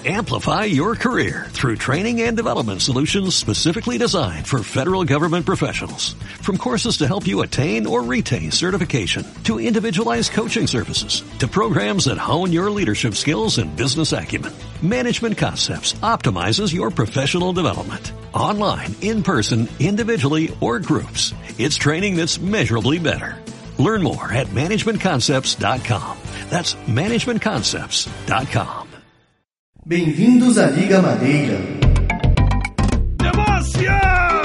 Amplify your career through training and development solutions specifically designed for federal government professionals. From courses to help you attain or retain certification, to individualized coaching services, to programs that hone your leadership skills and business acumen, Management Concepts optimizes your professional development. Online, in person, individually, or groups, it's training that's measurably better. Learn more at managementconcepts.com. That's managementconcepts.com. Bem-vindos à Liga Madeira. Demôncia!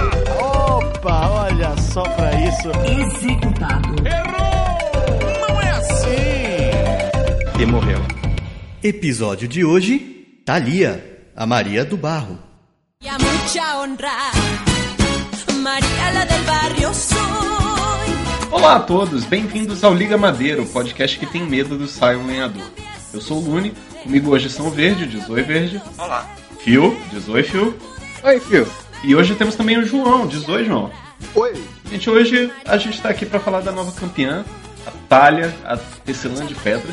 Opa, olha só pra isso. Executado. Errou! Não é assim! E morreu. Episódio de hoje, Thalia, a Maria do Barro. Y a mucha honra, María la del barrio soy. Olá a todos, bem-vindos ao Liga Madeira, o podcast que tem medo do Sion Lenhador. Eu sou o Lune, comigo hoje são o Verde, diz oi Verde. Olá. Phil, diz oi Phil. Oi, Phil. E hoje temos também o João, diz oi João. Oi. Gente, hoje a gente tá aqui pra falar da nova campeã, a Thalia, a Tecelã de Pedras.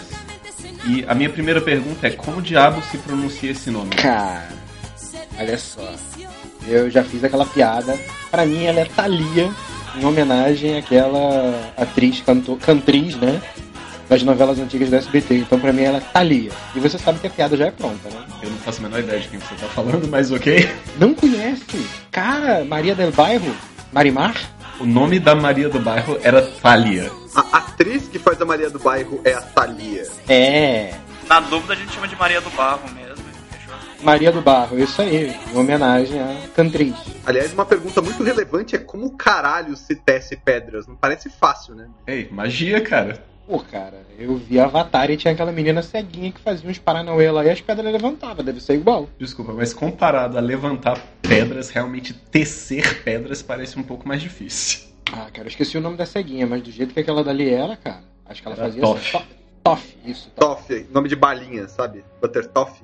E a minha primeira pergunta é, como diabo se pronuncia esse nome? Cara, olha só. Eu já fiz aquela piada. Pra mim ela é Thalia, em homenagem àquela atriz, cantriz, né? Das novelas antigas da SBT. Então pra mim ela é Thalia. E você sabe que a piada já é pronta, né? Eu não faço a menor ideia de quem você tá falando, mas ok. Não conhece? Cara, Maria del Bairro? Marimar? O nome da Maria do Bairro era Thalia. A atriz que faz a Maria do Bairro é a Thalia. É. Na dúvida a gente chama de Maria do Barro mesmo. Fechou? Maria do Barro, isso aí. Em homenagem à cantriz. Aliás, uma pergunta muito relevante é como caralho se tece pedras? Não parece fácil, né? Ei, magia, cara. Pô, cara, eu vi Avatar e tinha aquela menina ceguinha que fazia uns paranauê lá e as pedras levantavam, deve ser igual. Desculpa, mas comparado a levantar pedras, realmente tecer pedras parece um pouco mais difícil. Ah, cara, eu esqueci o nome da ceguinha, mas do jeito que aquela dali era, cara, acho que ela Era fazia Toff. assim, Toff, isso. Toff, nome de balinha, sabe? Butter Toff.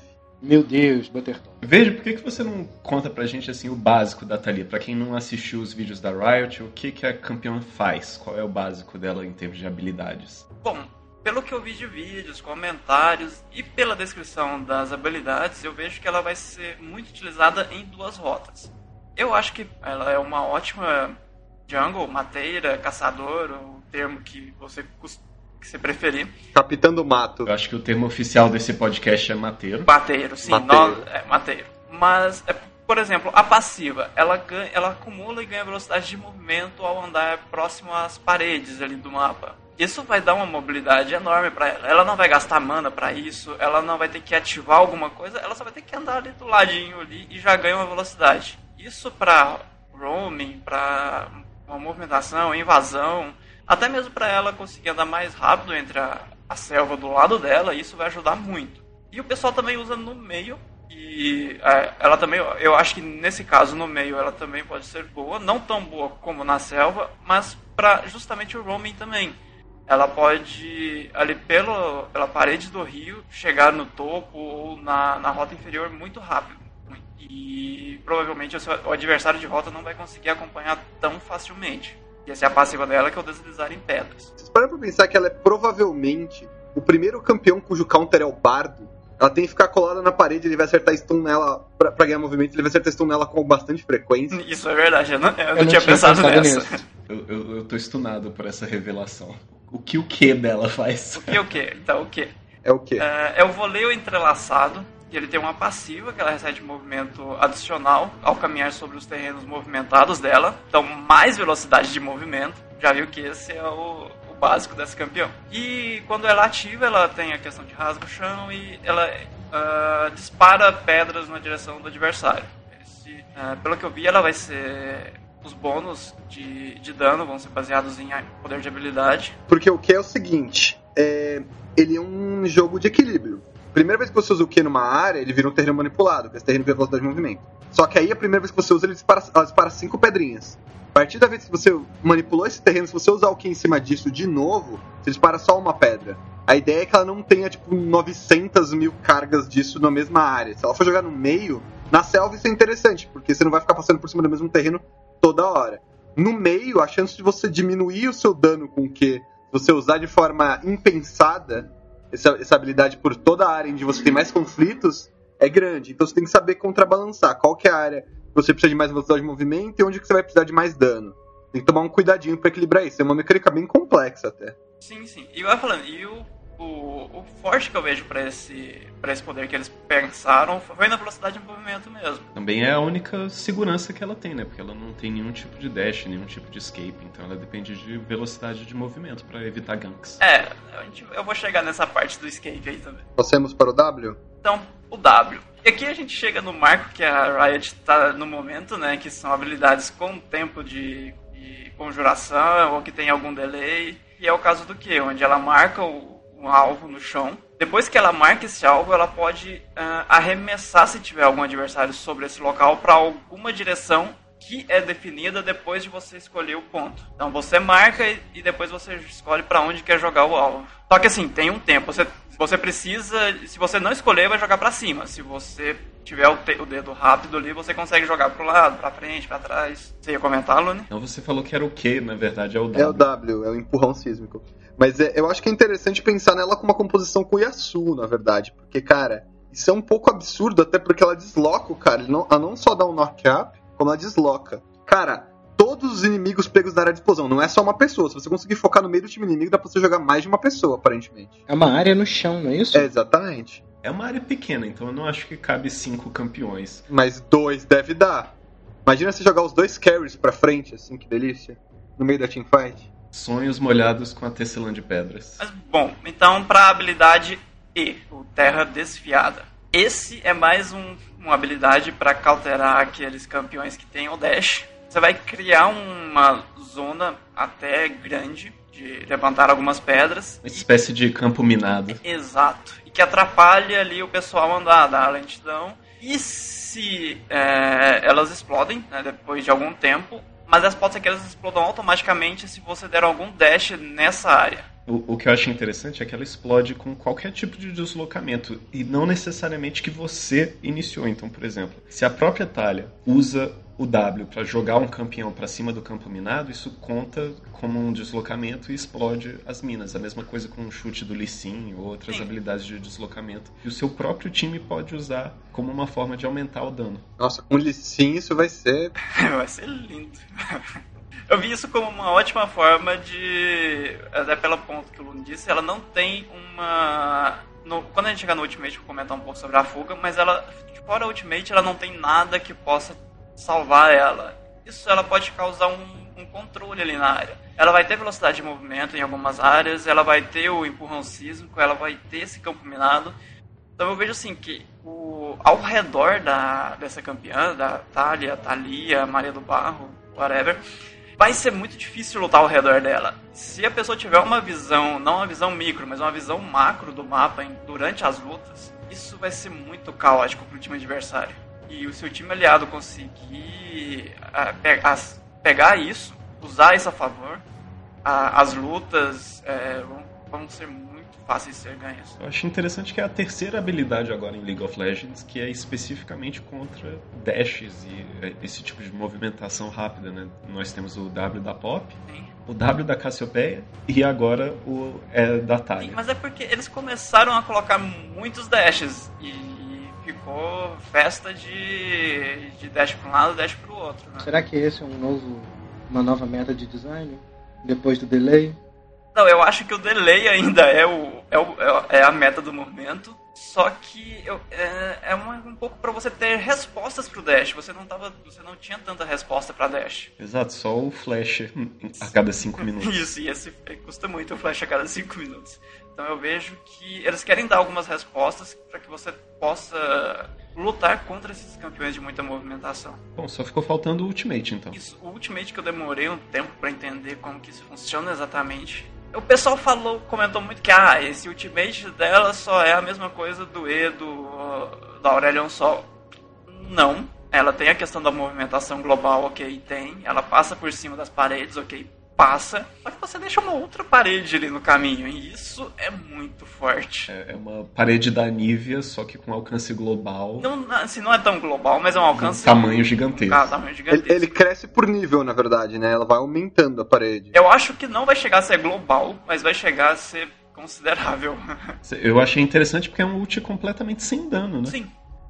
Meu Deus, Buttertoff. Veja, por que você não conta pra gente assim o básico da Thalia? Pra quem não assistiu os vídeos da Riot, o que a campeã faz? Qual é o básico dela em termos de habilidades? Bom, pelo que eu vi de vídeos, comentários e pela descrição das habilidades, eu vejo que ela vai ser muito utilizada em duas rotas. Eu acho que ela é uma ótima jungle, mateira, caçador, o termo que você preferir. Capitã do Mato. Eu acho que o termo oficial desse podcast é mateiro. Mateiro, sim. Mateiro. Mateiro. Mas, por exemplo, a passiva, ela acumula e ganha velocidade de movimento ao andar próximo às paredes ali do mapa. Isso vai dar uma mobilidade enorme pra ela. Ela não vai gastar mana pra isso, ela não vai ter que ativar alguma coisa, ela só vai ter que andar ali do ladinho ali e já ganha uma velocidade. Isso pra roaming, pra uma movimentação, invasão, até mesmo para ela conseguir andar mais rápido entre a selva do lado dela, isso vai ajudar muito. E o pessoal também usa no meio, e ela também, eu acho que nesse caso no meio ela também pode ser boa, não tão boa como na selva, mas para justamente o roaming também. Ela pode, ali pela parede do rio, chegar no topo ou na rota inferior muito rápido. E provavelmente o adversário de rota não vai conseguir acompanhar tão facilmente. E essa é a passiva dela, que é o deslizar em pedras. Vocês param pra pensar que ela é provavelmente o primeiro campeão cujo counter é o Bardo? Ela tem que ficar colada na parede, ele vai acertar stun nela pra ganhar movimento, ele vai acertar stun nela com bastante frequência. Isso é verdade, eu não tinha pensado nessa. Eu tô stunado por essa revelação. O que dela faz? O que? Então, o que? É o quê? É o voleio entrelaçado. E ele tem uma passiva que ela recebe movimento adicional ao caminhar sobre os terrenos movimentados dela. Então, mais velocidade de movimento. Já viu que esse é o básico desse campeão. E quando ela ativa, ela tem a questão de rasga o chão e ela dispara pedras na direção do adversário. Pelo que eu vi, ela vai ser... Os bônus de dano vão ser baseados em poder de habilidade. Porque o que é o seguinte, ele é um jogo de equilíbrio. Primeira vez que você usa o Q numa área, ele vira um terreno manipulado, que esse terreno tem velocidade de movimento. Só que aí, a primeira vez que você usa, ela dispara 5 pedrinhas. A partir da vez que você manipulou esse terreno, se você usar o Q em cima disso de novo, você dispara só uma pedra. A ideia é que ela não tenha, 900 mil cargas disso na mesma área. Se ela for jogar no meio, na selva isso é interessante, porque você não vai ficar passando por cima do mesmo terreno toda hora. No meio, a chance de você diminuir o seu dano com o Q, se você usar de forma impensada essa habilidade por toda a área onde você tem mais conflitos, é grande. Então você tem que saber contrabalançar qual que é a área que você precisa de mais velocidade de movimento e onde que você vai precisar de mais dano. Tem que tomar um cuidadinho pra equilibrar isso. É uma mecânica bem complexa até. Sim. E eu ia falando, o forte que eu vejo pra esse poder que eles pensaram foi na velocidade de movimento mesmo. Também é a única segurança que ela tem, né? Porque ela não tem nenhum tipo de dash, nenhum tipo de escape. Então ela depende de velocidade de movimento pra evitar ganks. Eu vou chegar nessa parte do escape aí também. Passemos para o W? Então, o W. E aqui a gente chega no marco que a Riot tá no momento, né? Que são habilidades com tempo de conjuração ou que tem algum delay. E é o caso do quê? Onde ela marca um alvo no chão. Depois que ela marca esse alvo, ela pode arremessar, se tiver algum adversário sobre esse local, para alguma direção que é definida depois de você escolher o ponto. Então você marca e depois você escolhe para onde quer jogar o alvo. Só que assim, tem um tempo. Você precisa, se você não escolher, vai jogar para cima. Se você tiver o dedo rápido ali, você consegue jogar pro lado, pra frente, pra trás. Você ia comentar, Lune? Então você falou que era o Q, na verdade é o W. É o W, é o empurrão sísmico. Mas eu acho que é interessante pensar nela com uma composição com o Yasuo, na verdade. Porque, cara, isso é um pouco absurdo, até porque ela desloca o cara. Ela não só dá um knock-up, como ela desloca. Cara, todos os inimigos pegos na área de explosão, não é só uma pessoa. Se você conseguir focar no meio do time inimigo, dá pra você jogar mais de uma pessoa, aparentemente. É uma área no chão, não é isso? É, exatamente. É uma área pequena, então eu não acho que cabe 5 campeões. Mas 2 deve dar. Imagina você jogar os 2 carries pra frente, assim, que delícia. No meio da teamfight. Sonhos molhados com a tecelã de pedras. Mas, bom, então para a habilidade E, o Terra Desfiada. Esse é mais uma habilidade para cauterar aqueles campeões que tem o dash. Você vai criar uma zona até grande de levantar algumas pedras. Uma espécie de campo minado. Exato. E que atrapalha ali o pessoal andar, dá lentidão. E se elas explodem, né, depois de algum tempo, mas pode ser que elas explodam automaticamente se você der algum dash nessa área. O que eu acho interessante é que ela explode com qualquer tipo de deslocamento e não necessariamente que você iniciou. Então, por exemplo, se a própria Thalia usa o W para jogar um campeão para cima do campo minado, isso conta como um deslocamento e explode as minas. A mesma coisa com o chute do Lee Sin ou outras habilidades de deslocamento. E o seu próprio time pode usar como uma forma de aumentar o dano. Nossa, com o Lee Sin isso vai ser... vai ser lindo. Eu vi isso como uma ótima forma de... Até pelo ponto que o Lune disse, ela não tem uma... Quando a gente chegar no Ultimate, eu vou comentar um pouco sobre a fuga, mas ela, fora a Ultimate, ela não tem nada que possa salvar ela. Isso ela pode causar um controle ali na área. Ela vai ter velocidade de movimento em algumas áreas, ela vai ter o empurrão sísmico, ela vai ter esse campo minado. Então eu vejo assim que ao redor dessa campeã, da Thalia, Maria do Barro, whatever, vai ser muito difícil lutar ao redor dela. Se a pessoa tiver uma visão, não uma visão micro, mas uma visão macro do mapa durante as lutas, isso vai ser muito caótico pro time adversário. E o seu time aliado conseguir pegar isso, usar isso a favor, as lutas vão ser muito fáceis de ser ganhas. Eu acho interessante que é a terceira habilidade agora em League of Legends, que é especificamente contra dashes e esse tipo de movimentação rápida, né? Nós temos o W da Pop, Sim. o W da Cassiopeia e agora o da Thalia. Sim, mas é porque eles começaram a colocar muitos dashes e ficou festa de dash para um lado e dash para o outro. Né? Será que esse é uma nova meta de design? Depois do delay? Não, eu acho que o delay ainda é a meta do momento, só que um pouco para você ter respostas pro dash. Você não tinha tanta resposta para dash. Exato, só o flash a cada 5 minutos. Isso, e esse custa muito o flash a cada 5 minutos. Então eu vejo que eles querem dar algumas respostas para que você possa lutar contra esses campeões de muita movimentação. Bom, só ficou faltando o Ultimate, então. Isso, o Ultimate que eu demorei um tempo para entender como que isso funciona exatamente. O pessoal comentou muito que esse Ultimate dela só é a mesma coisa do E da Aurelion Sol. Não, ela tem a questão da movimentação global, ok, tem. Ela passa por cima das paredes, ok, passa. Só que você deixa uma outra parede ali no caminho, e isso é muito forte. É uma parede da Nivea, só que com alcance global. Não, assim, não é tão global, mas é um alcance... Tamanho gigantesco. Tamanho gigantesco. Ele cresce por nível, na verdade, né? Ela vai aumentando a parede. Eu acho que não vai chegar a ser global, mas vai chegar a ser considerável. Eu achei interessante porque é um ult completamente sem dano, né? Sim,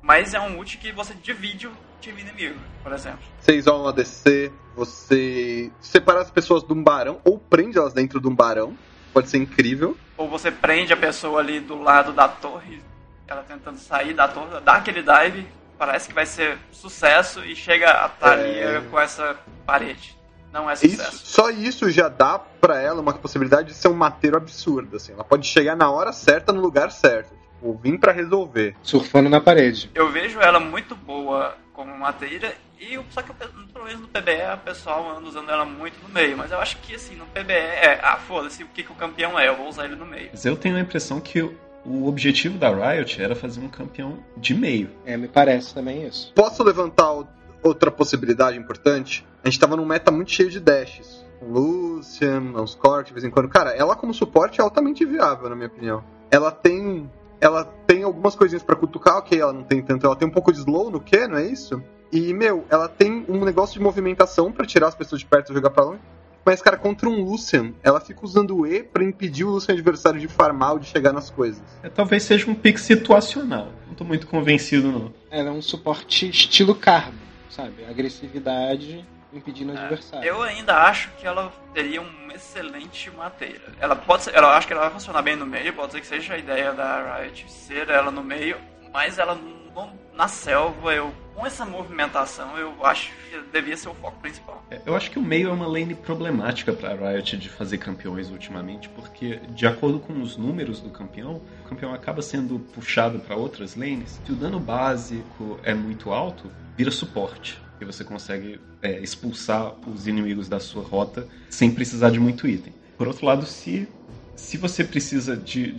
Mas é um ult que você divide o time inimigo, por exemplo. Você isola um ADC, você separa as pessoas de um barão, ou prende elas dentro de um barão. Pode ser incrível. Ou você prende a pessoa ali do lado da torre, ela tentando sair da torre, dá aquele dive, parece que vai ser sucesso e chega a Thalia com essa parede. Não é sucesso. Só isso já dá pra ela uma possibilidade de ser um mateiro absurdo, assim. Ela pode chegar na hora certa, no lugar certo. Tipo, vim pra resolver. Surfando na parede. Eu vejo ela muito boa como mateira, só que pelo menos no PBE o pessoal anda usando ela muito no meio. Mas eu acho que assim, no PBE foda-se o que o campeão é, eu vou usar ele no meio. Mas eu tenho a impressão que o objetivo da Riot era fazer um campeão de meio. Me parece também isso. Posso levantar outra possibilidade importante? A gente tava num meta muito cheio de dashes. Lucian, uns Cork, de vez em quando. Cara, ela como suporte é altamente viável, na minha opinião. Ela tem algumas coisinhas pra cutucar, ok, ela não tem tanto. Ela tem um pouco de slow no Q, não é isso? E, ela tem um negócio de movimentação pra tirar as pessoas de perto e jogar pra longe. Mas, cara, contra um Lucian, ela fica usando o E pra impedir o Lucian adversário de farmar ou de chegar nas coisas. Talvez seja um pick situacional. Não tô muito convencido, não. Ela é um suporte estilo Karma, sabe? Agressividade impedindo o adversário. Eu ainda acho que ela teria uma excelente mateira. Ela pode ser, eu acho que ela vai funcionar bem no meio, pode ser que seja a ideia da Riot ser ela no meio, mas ela na selva, com essa movimentação, eu acho que devia ser o foco principal. Eu acho que o meio é uma lane problemática pra Riot de fazer campeões ultimamente, porque de acordo com os números do campeão, o campeão acaba sendo puxado pra outras lanes. Se o dano básico é muito alto, vira suporte. E você consegue expulsar os inimigos da sua rota sem precisar de muito item. Por outro lado, se você precisa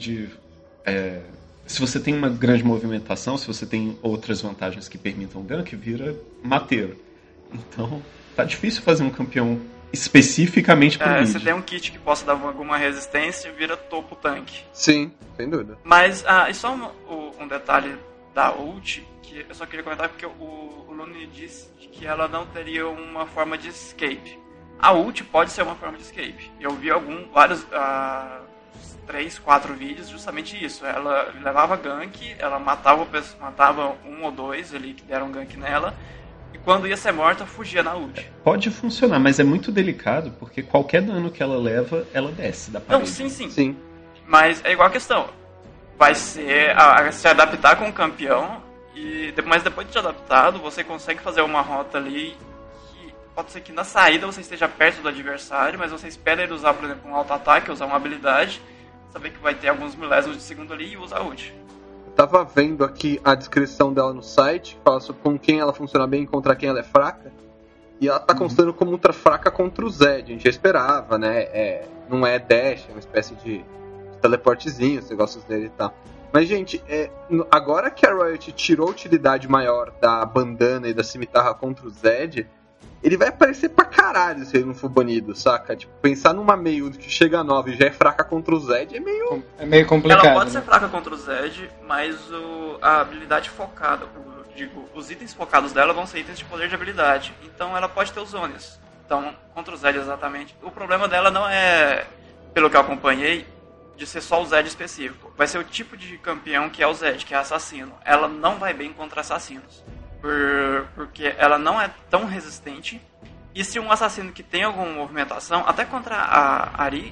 se você tem uma grande movimentação, se você tem outras vantagens que permitam gank, vira mateiro. Então, tá difícil fazer um campeão especificamente pro mid. Você tem um kit que possa dar alguma resistência, vira topo tanque. Sim, sem dúvida. Mas, e só um detalhe da ult, que eu só queria comentar porque o Lune disse que ela não teria uma forma de escape. A ult pode ser uma forma de escape. Eu vi vários 3, 4 vídeos justamente isso. Ela levava gank, ela matava um ou dois ali que deram gank nela, e quando ia ser morta, fugia na ult. Pode funcionar, mas é muito delicado, porque qualquer dano que ela leva, ela desce da parede. Não, sim. Mas é igual a questão. Vai ser se adaptar com o campeão, mas depois de adaptado, você consegue fazer uma rota ali que pode ser que na saída você esteja perto do adversário, mas você espera ele usar, por exemplo, um auto-ataque, usar uma habilidade, saber que vai ter alguns milésimos de segundo ali e usar ult. Eu tava vendo aqui a descrição dela no site, que fala sobre com quem ela funciona bem e contra quem ela é fraca. E ela tá constando como ultra fraca contra o Zed. A gente já esperava, né? Não é dash, é uma espécie de teleportezinho, os negócios dele e tal. Mas, gente, agora que a Riot tirou a utilidade maior da bandana e da cimitarra contra o Zed, ele vai aparecer pra caralho se ele não for banido, saca? Tipo, pensar numa meio que chega a 9 e já é fraca contra o Zed é meio complicado. Ela pode ser fraca contra o Zed, mas a habilidade focada, os itens focados dela vão ser itens de poder de habilidade. Então ela pode ter os zones. Então, contra o Zed exatamente. O problema dela não é, pelo que eu acompanhei, de ser só o Zed específico. Vai ser o tipo de campeão que é o Zed, que é assassino. Ela não vai bem contra assassinos. Porque ela não é tão resistente. E se um assassino que tem alguma movimentação, até contra a Ari,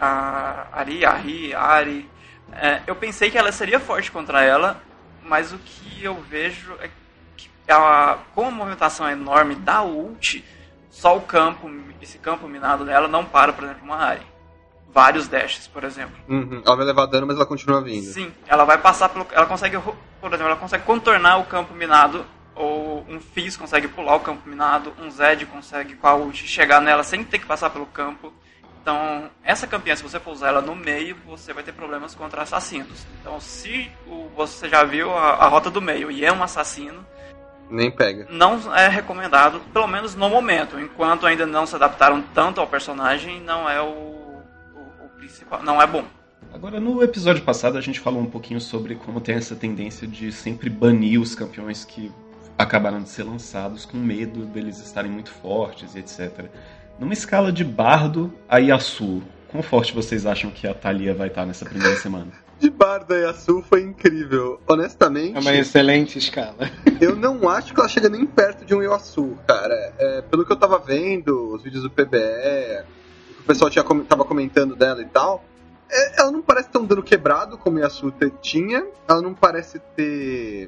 eu pensei que ela seria forte contra ela, mas o que eu vejo é que com a movimentação enorme da ult, só esse campo minado dela não para, por exemplo, uma Ari. Vários dashes, por exemplo. Ela vai levar dano, mas ela continua vindo. Sim, ela vai passar pelo... Ela consegue, por exemplo, ela consegue contornar o campo minado, ou um Fizz consegue pular o campo minado, um Zed consegue com a ult chegar nela sem ter que passar pelo campo. Então, essa campeã, se você for usar ela no meio, você vai ter problemas contra assassinos. Então, se você já viu a rota do meio e é um assassino, nem pega. Não é recomendado, pelo menos no momento. Enquanto ainda não se adaptaram tanto ao personagem, não é o principal, não é bom. Agora, no episódio passado, a gente falou um pouquinho sobre como tem essa tendência de sempre banir os campeões que acabaram de ser lançados com medo deles estarem muito fortes e etc. Numa escala de Bardo a Yasuo, quão forte vocês acham que a Thalia vai estar nessa primeira semana? de Bardo e Yasuo foi incrível. Honestamente, É uma excelente escala. eu não acho que ela chega nem perto de um Yasuo, cara. Pelo que eu tava vendo, os vídeos do PBE, o que o pessoal tava comentando dela e tal, ela não parece ter um dano quebrado como o Yasuo tinha. Ela não parece ter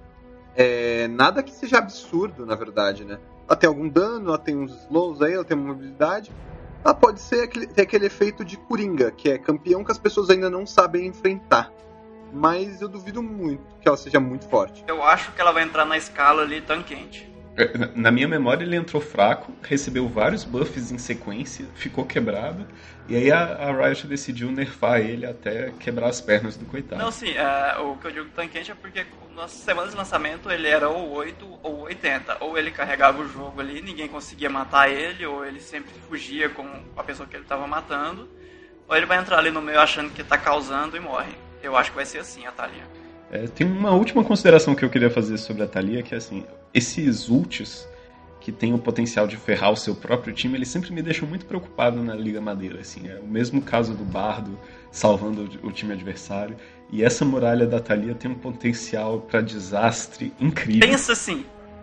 nada que seja absurdo, na verdade, né? Ela tem algum dano, ela tem uns slows aí, ela tem uma mobilidade. Ela pode ter aquele efeito de Coringa, que é campeão que as pessoas ainda não sabem enfrentar. Mas eu duvido muito que ela seja muito forte. Eu acho que ela vai entrar na escala ali tanquente. Na minha memória ele entrou fraco, recebeu vários buffs em sequência, ficou quebrado, e aí a Riot decidiu nerfar ele até quebrar as pernas do coitado. Não, sim, o que eu digo tanquente é porque nas semanas de lançamento ele era ou 8 ou 80. Ou ele carregava o jogo ali, ninguém conseguia matar ele, ou ele sempre fugia com a pessoa que ele estava matando, ou ele vai entrar ali no meio achando que está causando e morre. Eu acho que vai ser assim a Thalia. Tem uma última consideração que eu queria fazer sobre a Thalia, que é assim, esses ults que tem o potencial de ferrar o seu próprio time, eles sempre me deixam muito preocupado na Liga Madeira, assim, é o mesmo caso do Bardo salvando o time adversário, e essa muralha da Thalia tem um potencial para desastre incrível. Pensa assim,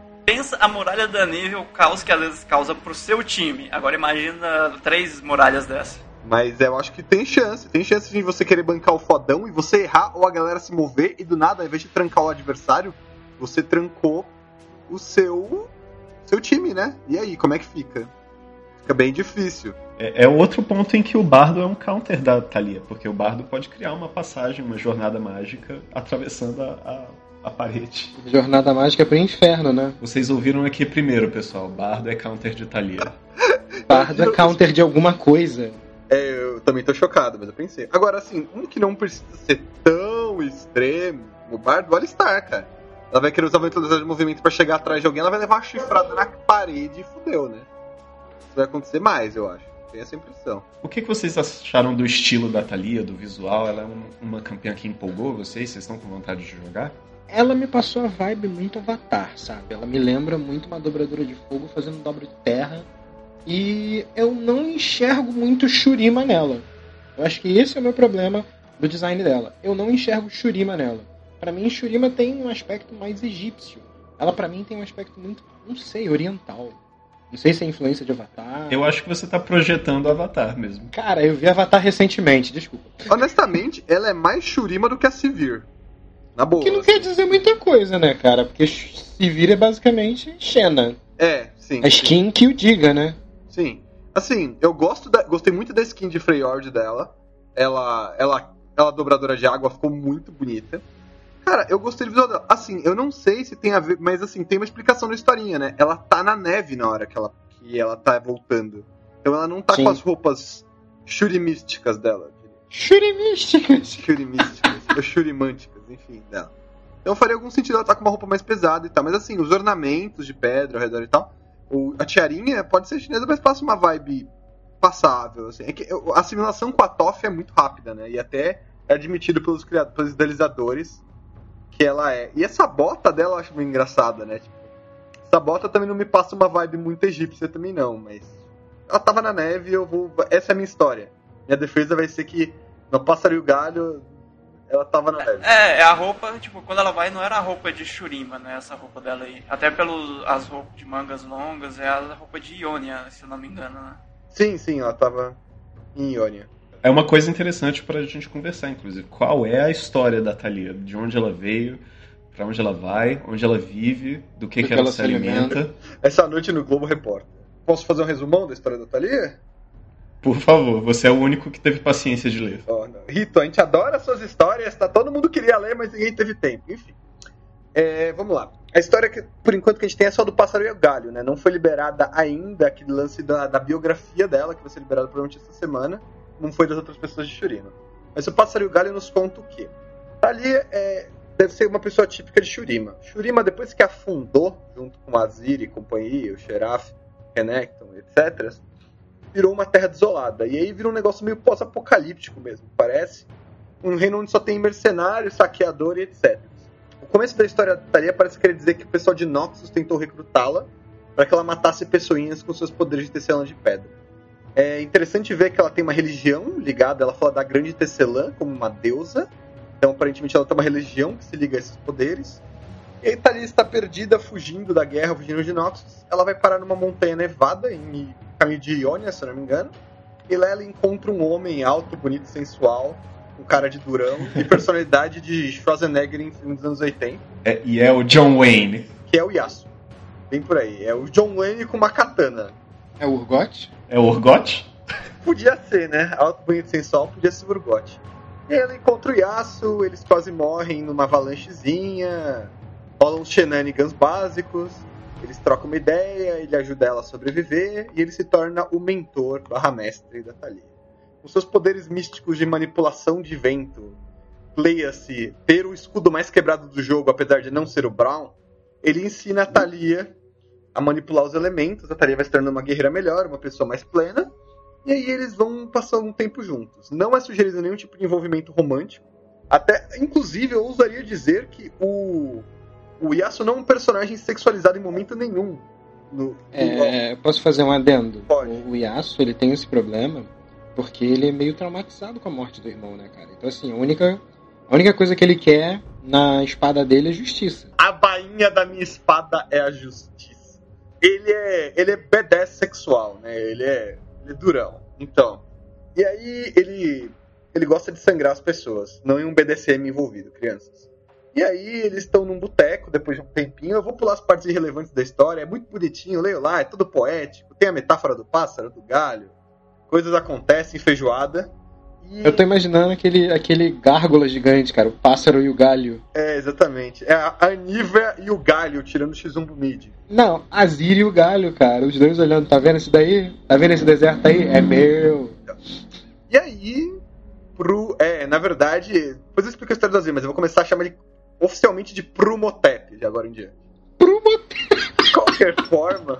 a muralha da nível, o caos que às vezes causa pro seu time, agora imagina 3 muralhas dessa. Mas eu acho que tem chance de você querer bancar o fodão e você errar ou a galera se mover e do nada, ao invés de trancar o adversário, você trancou o seu time, né? E aí, como é que fica? Fica bem difícil. É outro ponto em que o Bardo é um counter da Thalia, porque o Bardo pode criar uma passagem, uma jornada mágica atravessando a parede. Jornada mágica pro inferno, né? Vocês ouviram aqui primeiro, pessoal. Bardo é counter de Thalia. Bardo é counter de alguma coisa. Eu também tô chocado, mas eu pensei. Agora, assim, um que não precisa ser tão extremo, o Bardo, o Alistar, cara. Ela vai querer usar a velocidade de movimento pra chegar atrás de alguém, ela vai levar uma chifrada na parede e fudeu, né? Isso vai acontecer mais, eu acho. Tenho essa impressão. O que vocês acharam do estilo da Thalia, do visual? Ela é uma campeã que empolgou vocês? Vocês estão com vontade de jogar? Ela me passou a vibe muito Avatar, sabe? Ela me lembra muito uma dobradora de fogo fazendo dobra de terra. E eu não enxergo muito Shurima nela. Eu acho que esse é o meu problema do design dela. Eu não enxergo Shurima nela. Pra mim, Shurima tem um aspecto mais egípcio. Ela, pra mim, tem um aspecto muito, não sei, oriental. Não sei se é influência de Avatar. Eu acho que você tá projetando Avatar mesmo. Cara, eu vi Avatar recentemente, desculpa. Honestamente, ela é mais Shurima do que a Sivir. Na boa. Que não quer dizer muita coisa, né, cara? Porque Sivir é basicamente Xena. Sim. A skin que o diga, né? Sim. Assim, eu gostei muito da skin de Freyord dela. Ela dobradora de água, ficou muito bonita. Cara, eu gostei do visual dela. Assim, eu não sei se tem a ver, mas assim, tem uma explicação na historinha, né? Ela tá na neve na hora que ela tá voltando. Então ela não tá Sim. com as roupas churimísticas dela. Churimísticas. Ou churimânticas, enfim, dela. Então faria algum sentido ela tá com uma roupa mais pesada e tal. Mas assim, os ornamentos de pedra ao redor e tal. A tiarinha pode ser chinesa, mas passa uma vibe passável. Assim. É que a assimilação com a Toph é muito rápida, né? E até é admitido pelos idealizadores que ela é. E essa bota dela eu acho meio engraçada, né? Tipo, essa bota também não me passa uma vibe muito egípcia também não, mas ela tava na neve e essa é a minha história. Minha defesa vai ser que no Pássaro e o Galho ela tava na neve. A roupa, tipo, quando ela vai, não era a roupa de Shurima, né? Essa roupa dela aí. Até as roupas de mangas longas, é a roupa de Ionia, se eu não me engano, né? Sim, ela tava em Ionia. É uma coisa interessante pra gente conversar, inclusive. Qual é a história da Thalia? De onde ela veio, pra onde ela vai, onde ela vive, do que ela se alimenta. Essa noite no Globo Repórter. Posso fazer um resumão da história da Thalia? Por favor, você é o único que teve paciência de ler. Rito, a gente adora suas histórias, tá? Todo mundo queria ler, mas ninguém teve tempo. Enfim. Vamos lá. A história que, por enquanto, que a gente tem é só do Pássaro e o Galho, né? Não foi liberada ainda aquele lance da biografia dela, que vai ser liberada provavelmente essa semana. Não foi das outras pessoas de Shurima. Mas o Pássaro e o Galho nos conta o quê? Thalia deve ser uma pessoa típica de Shurima. Shurima, depois que afundou, junto com Azir e companhia, o Xerath, Renekton, etc., virou uma terra desolada. E aí virou um negócio meio pós-apocalíptico mesmo, parece. Um reino onde só tem mercenário, saqueador e etc. O começo da história da Thalia parece querer dizer que o pessoal de Noxus tentou recrutá-la para que ela matasse pessoinhas com seus poderes de tecelã de pedra. É interessante ver que ela tem uma religião ligada, ela fala da grande tecelã como uma deusa, Então, aparentemente, ela tem uma religião que se liga a esses poderes. E aí, Thalia está perdida, fugindo da guerra, fugindo de Noxus. Ela vai parar numa montanha nevada, em caminho de Ionia, se eu não me engano. E lá ela encontra um homem alto, bonito, sensual, com cara de durão e personalidade de Schwarzenegger em filmes dos anos 80. E é o John Wayne. Que é o Yasuo. Bem por aí. É o John Wayne com uma katana. É o Urgot? É o Urgot? Podia ser, né? Alto, bonito, sensual, podia ser o Urgot. E aí ela encontra o Yasuo, eles quase morrem numa avalanchezinha, rolam uns shenanigans básicos, eles trocam uma ideia, ele ajuda ela a sobreviver, e ele se torna o mentor / mestre da Thalia. Com seus poderes místicos de manipulação de vento, leia-se, ter o escudo mais quebrado do jogo, apesar de não ser o Braum, ele ensina a Thalia a manipular os elementos, a Thalia vai se tornando uma guerreira melhor, uma pessoa mais plena, e aí eles vão passando um tempo juntos. Não é sugerido nenhum tipo de envolvimento romântico. Até, inclusive, eu ousaria dizer que o Yasuo não é um personagem sexualizado em momento nenhum. Posso fazer um adendo? Pode. O Yasuo, ele tem esse problema porque ele é meio traumatizado com a morte do irmão, né, cara? Então, assim, a única coisa que ele quer na espada dele é justiça. A bainha da minha espada é a justiça. Ele é badass sexual, né? Ele é durão. Então, e aí ele gosta de sangrar as pessoas, não em um BDSM envolvido, crianças. E aí eles estão num boteco depois de um tempinho. Eu vou pular as partes irrelevantes da história, é muito bonitinho, leio lá, é tudo poético, tem a metáfora do pássaro, do galho, coisas acontecem, feijoada. E... Eu tô imaginando aquele gárgula gigante, cara, o pássaro e o galho. É, exatamente. É a Anívia e o galho tirando o X1 pro mid. Não, a Ziri e o galho, cara, os dois olhando, tá vendo isso daí? Tá vendo esse deserto aí? É meu. E aí, na verdade, depois eu explico a história da Ziri, mas eu vou começar a chamar ele oficialmente de Prumotep, de agora em diante. Prumotep! De qualquer forma.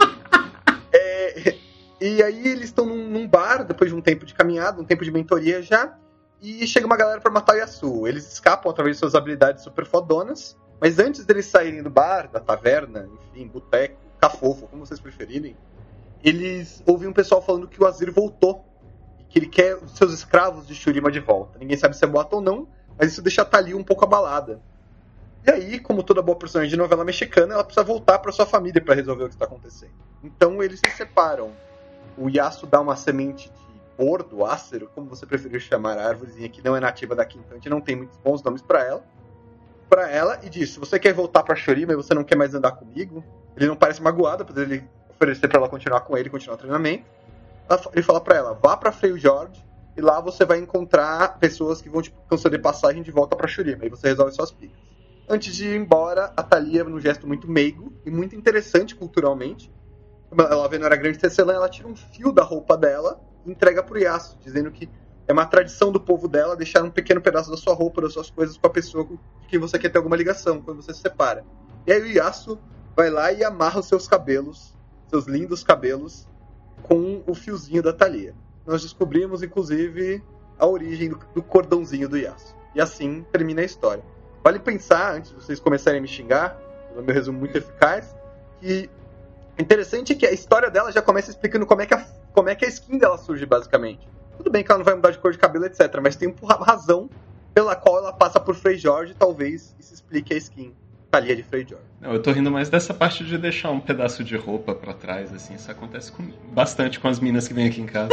E aí eles estão num bar, depois de um tempo de caminhada, um tempo de mentoria já, e chega uma galera pra matar o Yasuo. Eles escapam através de suas habilidades super fodonas, mas antes deles saírem do bar, da taverna, enfim, boteco, cafofo, como vocês preferirem, eles ouvem um pessoal falando que o Azir voltou, e que ele quer os seus escravos de Shurima de volta. Ninguém sabe se é boato ou não, mas isso deixa a Thalia um pouco abalada. E aí, como toda boa personagem de novela mexicana, ela precisa voltar pra sua família pra resolver o que está acontecendo. Então eles se separam. O Yasuo dá uma semente de bordo, ácero, como você preferir chamar a árvorezinha que não é nativa daqui, então a gente não tem muitos bons nomes pra ela, e diz, se você quer voltar pra Shurima e você não quer mais andar comigo, ele não parece magoado, apesar de ele oferecer pra ela continuar com ele, continuar o treinamento, ele fala pra ela, vá pra Freljord, e lá você vai encontrar pessoas que vão te conceder passagem de volta pra Shurima, e você resolve suas picas. Antes de ir embora, a Thalia, num gesto muito meigo e muito interessante culturalmente, ela vendo era grande tecelã, ela tira um fio da roupa dela e entrega pro Yasuo, dizendo que é uma tradição do povo dela deixar um pequeno pedaço da sua roupa, das suas coisas com a pessoa com quem você quer ter alguma ligação, quando você se separa. E aí o Yasuo vai lá e amarra os seus cabelos, seus lindos cabelos, com o fiozinho da Thalia. Nós descobrimos, inclusive, a origem do cordãozinho do Yasuo. E assim termina a história. Vale pensar, antes de vocês começarem a me xingar, no meu resumo muito eficaz, que interessante é que a história dela já começa explicando como é que a skin dela surge, basicamente. Tudo bem que ela não vai mudar de cor de cabelo, etc. Mas tem uma razão pela qual ela passa por Freljord e talvez isso explique a skin Thalia de Freljord. Não, eu tô rindo mais dessa parte de deixar um pedaço de roupa pra trás, assim. Isso acontece bastante com as minas que vêm aqui em casa.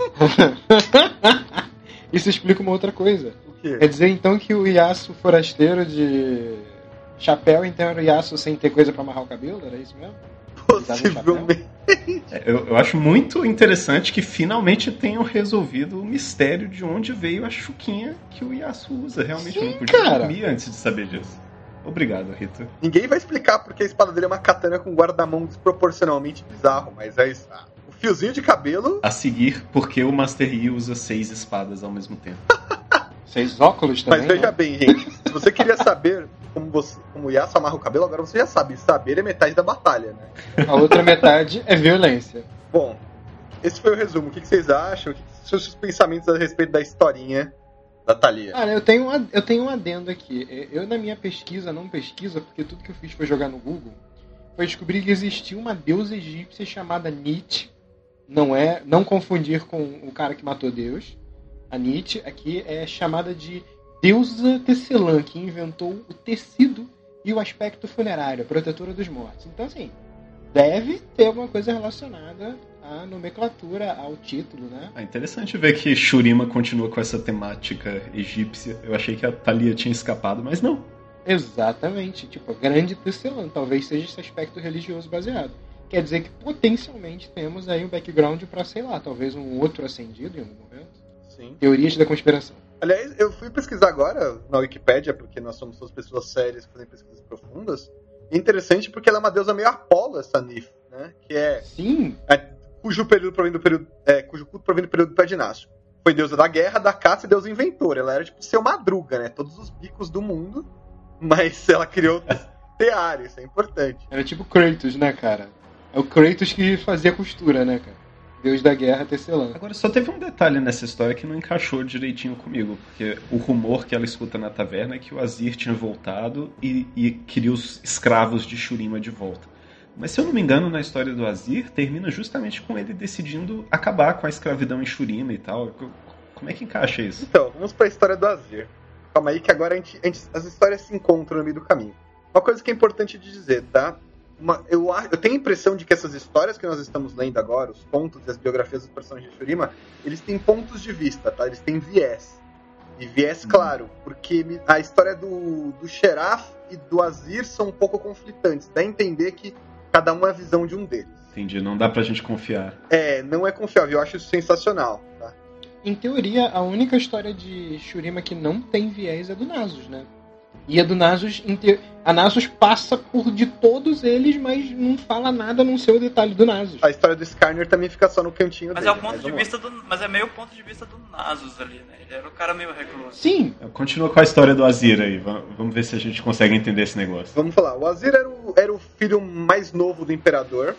Isso explica uma outra coisa. O quê? Quer dizer, então, que o Yasuo forasteiro de chapéu, então, era o Yasuo sem ter coisa pra amarrar o cabelo? Era isso mesmo? Possivelmente. Eu acho muito interessante que finalmente tenham resolvido o mistério de onde veio a chuquinha que o Yasuo usa. Realmente, sim, eu não podia dormir antes de saber disso. Obrigado, Rita. Ninguém vai explicar porque a espada dele é uma katana com guarda-mão desproporcionalmente bizarro, mas é isso. O fiozinho de cabelo... A seguir, porque o Master Yi usa 6 espadas ao mesmo tempo. 6 óculos também? Mas veja bem, gente. Se você queria saber como o Yasuo amarra o cabelo, agora você já sabe. Saber é metade da batalha, né? A outra metade é violência. Bom, esse foi o resumo. O que vocês acham? O que são os seus pensamentos a respeito da historinha da Thalia? Cara, eu tenho um adendo aqui. Eu, na minha pesquisa, não pesquisa, porque tudo que eu fiz foi jogar no Google, foi descobrir que existia uma deusa egípcia chamada Nit. Não confundir com o cara que matou Deus. A Nit aqui é chamada de deusa Tecelã, que inventou o tecido e o aspecto funerário, a protetora dos mortos. Então, assim, deve ter alguma coisa relacionada à nomenclatura, ao título, né? É interessante ver que Shurima continua com essa temática egípcia. Eu achei que a Thalia tinha escapado, mas não. Exatamente, tipo, a grande Tecelã, talvez seja esse aspecto religioso baseado. Quer dizer que potencialmente temos aí um background para, sei lá, talvez um outro ascendido em algum momento. Sim. Teorias da conspiração. Aliás, eu fui pesquisar agora na Wikipédia, porque nós somos duas pessoas sérias que fazem pesquisas profundas. E é interessante porque ela é uma deusa meio Apolo, essa Nif, né? Que é. Sim. Cujo culto provém do período pré-dinástico. Foi deusa da guerra, da caça e deusa inventora. Ela era tipo seu Madruga, né? Todos os bicos do mundo, mas ela criou tear, isso é importante. Era tipo Kratos, né, cara? É o Kratos que fazia costura, né, cara? Deus da guerra, Tecelã. Agora, só teve um detalhe nessa história que não encaixou direitinho comigo, porque o rumor que ela escuta na taverna é que o Azir tinha voltado e queria os escravos de Shurima de volta. Mas se eu não me engano, na história do Azir, termina justamente com ele decidindo acabar com a escravidão em Shurima e tal. Como é que encaixa isso? Então, vamos pra história do Azir. Calma aí que agora as histórias se encontram no meio do caminho. Uma coisa que é importante de dizer, tá? Eu tenho a impressão de que essas histórias que nós estamos lendo agora, os contos e as biografias dos personagens de Shurima, eles têm pontos de vista, tá? Eles têm viés. E viés claro, porque a história do Sheraf e do Azir são um pouco conflitantes. Dá a entender que cada um é a visão de um deles. Entendi, não dá pra gente confiar. Não é confiável, eu acho isso sensacional, tá? Em teoria, a única história de Shurima que não tem viés é do Nasus, né? E a do Nasus, a Nasus passa por de todos eles, mas não fala nada no seu detalhe do Nasus. A história do Skarner também fica só no cantinho mas dele. É o ponto de vista mas é meio ponto de vista do Nasus ali, né? Ele era o cara meio recluso. Sim. Continua com a história do Azir aí. Vamos ver se a gente consegue entender esse negócio. Vamos falar. O Azir era o filho mais novo do imperador.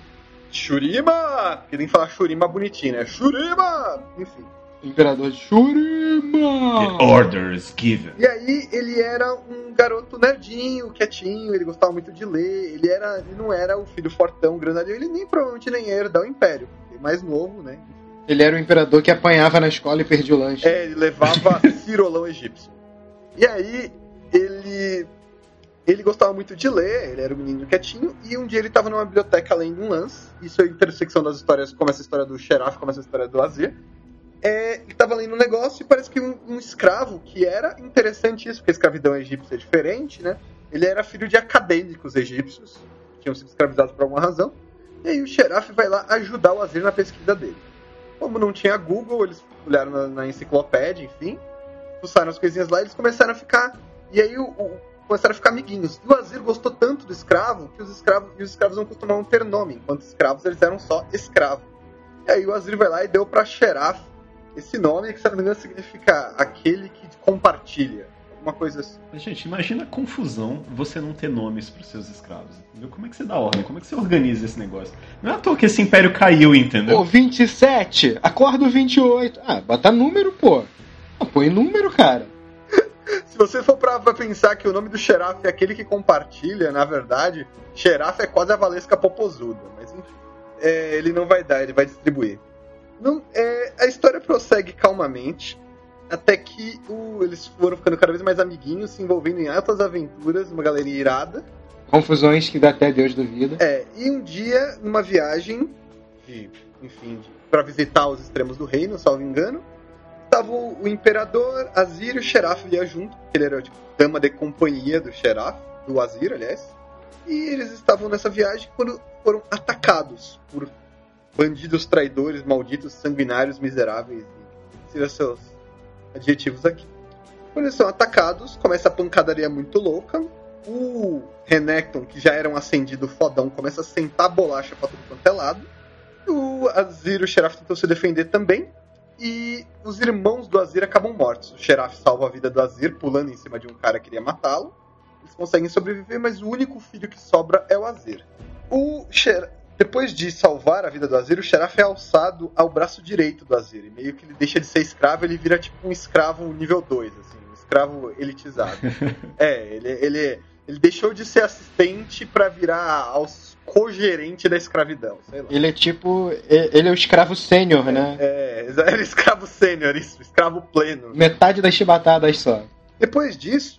Shurima! Que tem que falar Shurima bonitinho, né? Shurima! Enfim. Imperador de Shurima! The orders given. E aí ele era um garoto nerdinho, quietinho, ele gostava muito de ler, ele não era o filho fortão, grandalhão, ele provavelmente nem ia herdar o império, porque mais novo, né? Ele era o imperador que apanhava na escola e perdia o lanche. Ele levava cirolão egípcio. E aí ele gostava muito de ler, ele era um menino quietinho, e um dia ele estava numa biblioteca lendo um lance, isso é a intersecção das histórias, começa a história do Sheraf, começa a história do Azir. Ele estava lendo um negócio e parece que um escravo, que era interessante isso, porque a escravidão egípcia é diferente, né? Ele era filho de acadêmicos egípcios, que tinham sido escravizados por alguma razão, e aí o Sheraf vai lá ajudar o Azir na pesquisa dele. Como não tinha Google, eles olharam na enciclopédia, enfim, fuçaram as coisinhas lá e eles começaram a ficar... E aí começaram a ficar amiguinhos. E o Azir gostou tanto do escravo que os escravos não costumavam ter nome. Enquanto escravos, eles eram só escravo. E aí o Azir vai lá e deu pra Sheraf esse nome, que se não me engano significa aquele que compartilha. Alguma coisa assim. Gente, imagina a confusão você não ter nomes pros seus escravos. Entendeu? Como é que você dá ordem? Como é que você organiza esse negócio? Não é à toa que esse império caiu, entendeu? 27, acorda o 28. Bota número, pô. Põe número, cara. Se você for pra pensar que o nome do Sheraf é aquele que compartilha, na verdade, Sheraf é quase a Valesca Popozuda. Mas enfim, ele não vai dar, ele vai distribuir. A história prossegue calmamente, até que eles foram ficando cada vez mais amiguinhos, se envolvendo em altas aventuras, uma galerinha irada. Confusões que até Deus duvida. E um dia, numa viagem, pra visitar os extremos do reino, salvo engano, estava o imperador, Azir e o Sheraf ia junto, porque ele era tipo dama de companhia do Sheraf, do Azir, aliás. E eles estavam nessa viagem quando foram atacados por bandidos, traidores, malditos, sanguinários, miseráveis, seriam seus adjetivos aqui. Quando eles são atacados, começa a pancadaria muito louca. O Renekton, que já era um ascendido fodão, começa a sentar bolacha pra tudo quanto é lado. O Azir e o Sheraf tentam se defender também. E os irmãos do Azir acabam mortos. O Sheraf salva a vida do Azir, pulando em cima de um cara que queria matá-lo. Eles conseguem sobreviver, mas o único filho que sobra é o Azir. Depois de salvar a vida do Azir, o Sheraf é alçado ao braço direito do Azir. E meio que ele deixa de ser escravo, ele vira tipo um escravo nível 2, assim, um escravo elitizado. Ele deixou de ser assistente pra virar co-gerente da escravidão, sei lá. Ele é tipo... Ele é o escravo sênior, né? Ele é escravo sênior, isso, escravo pleno. Metade das chibatadas só. Depois disso,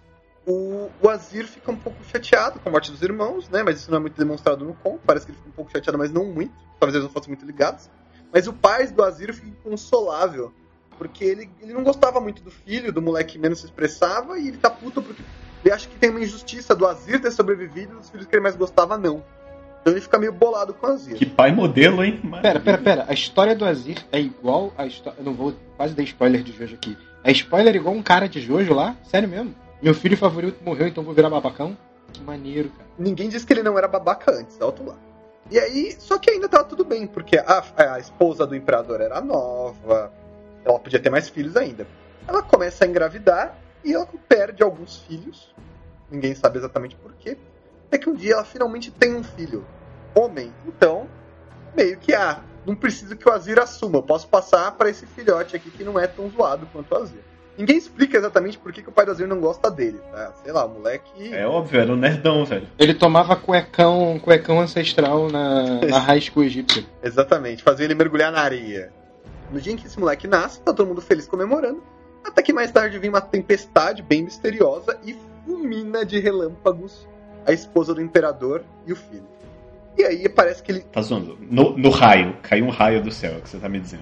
o Azir fica um pouco chateado com a morte dos irmãos, né? Mas isso não é muito demonstrado no conto. Parece que ele fica um pouco chateado, mas não muito. Talvez eles não fossem muito ligados. Mas o pai do Azir fica inconsolável, porque ele não gostava muito do filho, do moleque que menos se expressava, e ele tá puto porque ele acha que tem uma injustiça do Azir ter sobrevivido e dos filhos que ele mais gostava não. Então ele fica meio bolado com o Azir. Que pai modelo, hein? Pera. A história do Azir é igual a história... Eu não vou quase dar spoiler de Jojo aqui. É spoiler igual um cara de Jojo lá? Sério mesmo? Meu filho favorito morreu, então vou virar babacão? Que maneiro, cara. Ninguém disse que ele não era babaca antes, alto lá. E aí, só que ainda tava tudo bem, porque a esposa do imperador era nova, ela podia ter mais filhos ainda. Ela começa a engravidar e ela perde alguns filhos, ninguém sabe exatamente por quê. Até que um dia ela finalmente tem um filho, homem. Então, meio que, não preciso que o Azir assuma, eu posso passar pra esse filhote aqui que não é tão zoado quanto o Azir. Ninguém explica exatamente por que o pai do Azir não gosta dele, tá? Sei lá, o moleque... É óbvio, era um nerdão, velho. Ele tomava cuecão ancestral na high school egípcia. Exatamente, fazia ele mergulhar na areia. No dia em que esse moleque nasce, tá todo mundo feliz comemorando, até que mais tarde vem uma tempestade bem misteriosa e fulmina de relâmpagos a esposa do imperador e o filho. E aí parece que ele... Tá zoando. No raio, caiu um raio do céu, é o que você tá me dizendo.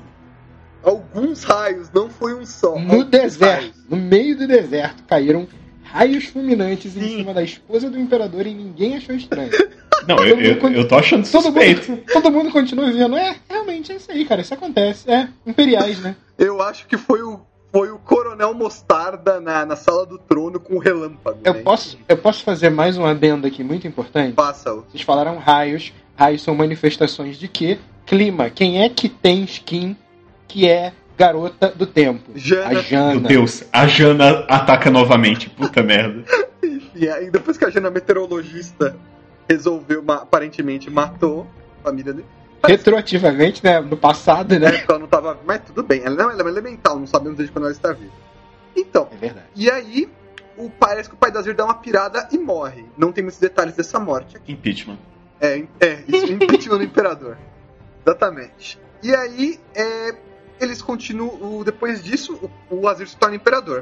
Alguns raios, não foi um só. No deserto, raios. no meio do deserto, caíram raios fulminantes em cima da esposa do imperador e ninguém achou estranho. Não, eu tô achando suspeito. Todo mundo continua vendo. Realmente é isso aí, cara. Isso acontece. Imperiais, né? Eu acho que foi o Coronel Mostarda na Sala do Trono com o relâmpago. Eu posso fazer mais um adendo aqui muito importante? Faça-o. Vocês falaram raios. Raios são manifestações de quê? Clima. Quem é que tem skin que é garota do tempo? Jana. A Jana. Meu Deus, a Jana ataca novamente. Puta merda. E aí, depois que a Jana meteorologista resolveu, aparentemente matou a família dele. Retroativamente, né? No passado, né? Ela não tava... Mas tudo bem, ela é elemental, não sabemos desde quando ela está viva. Então, é verdade. E aí, parece que o pai da Azir dá uma pirada e morre. Não tem muitos detalhes dessa morte aqui. Impeachment. Isso, impeachment do imperador. Exatamente. E aí, eles continuam... Depois disso, o Azir se torna imperador.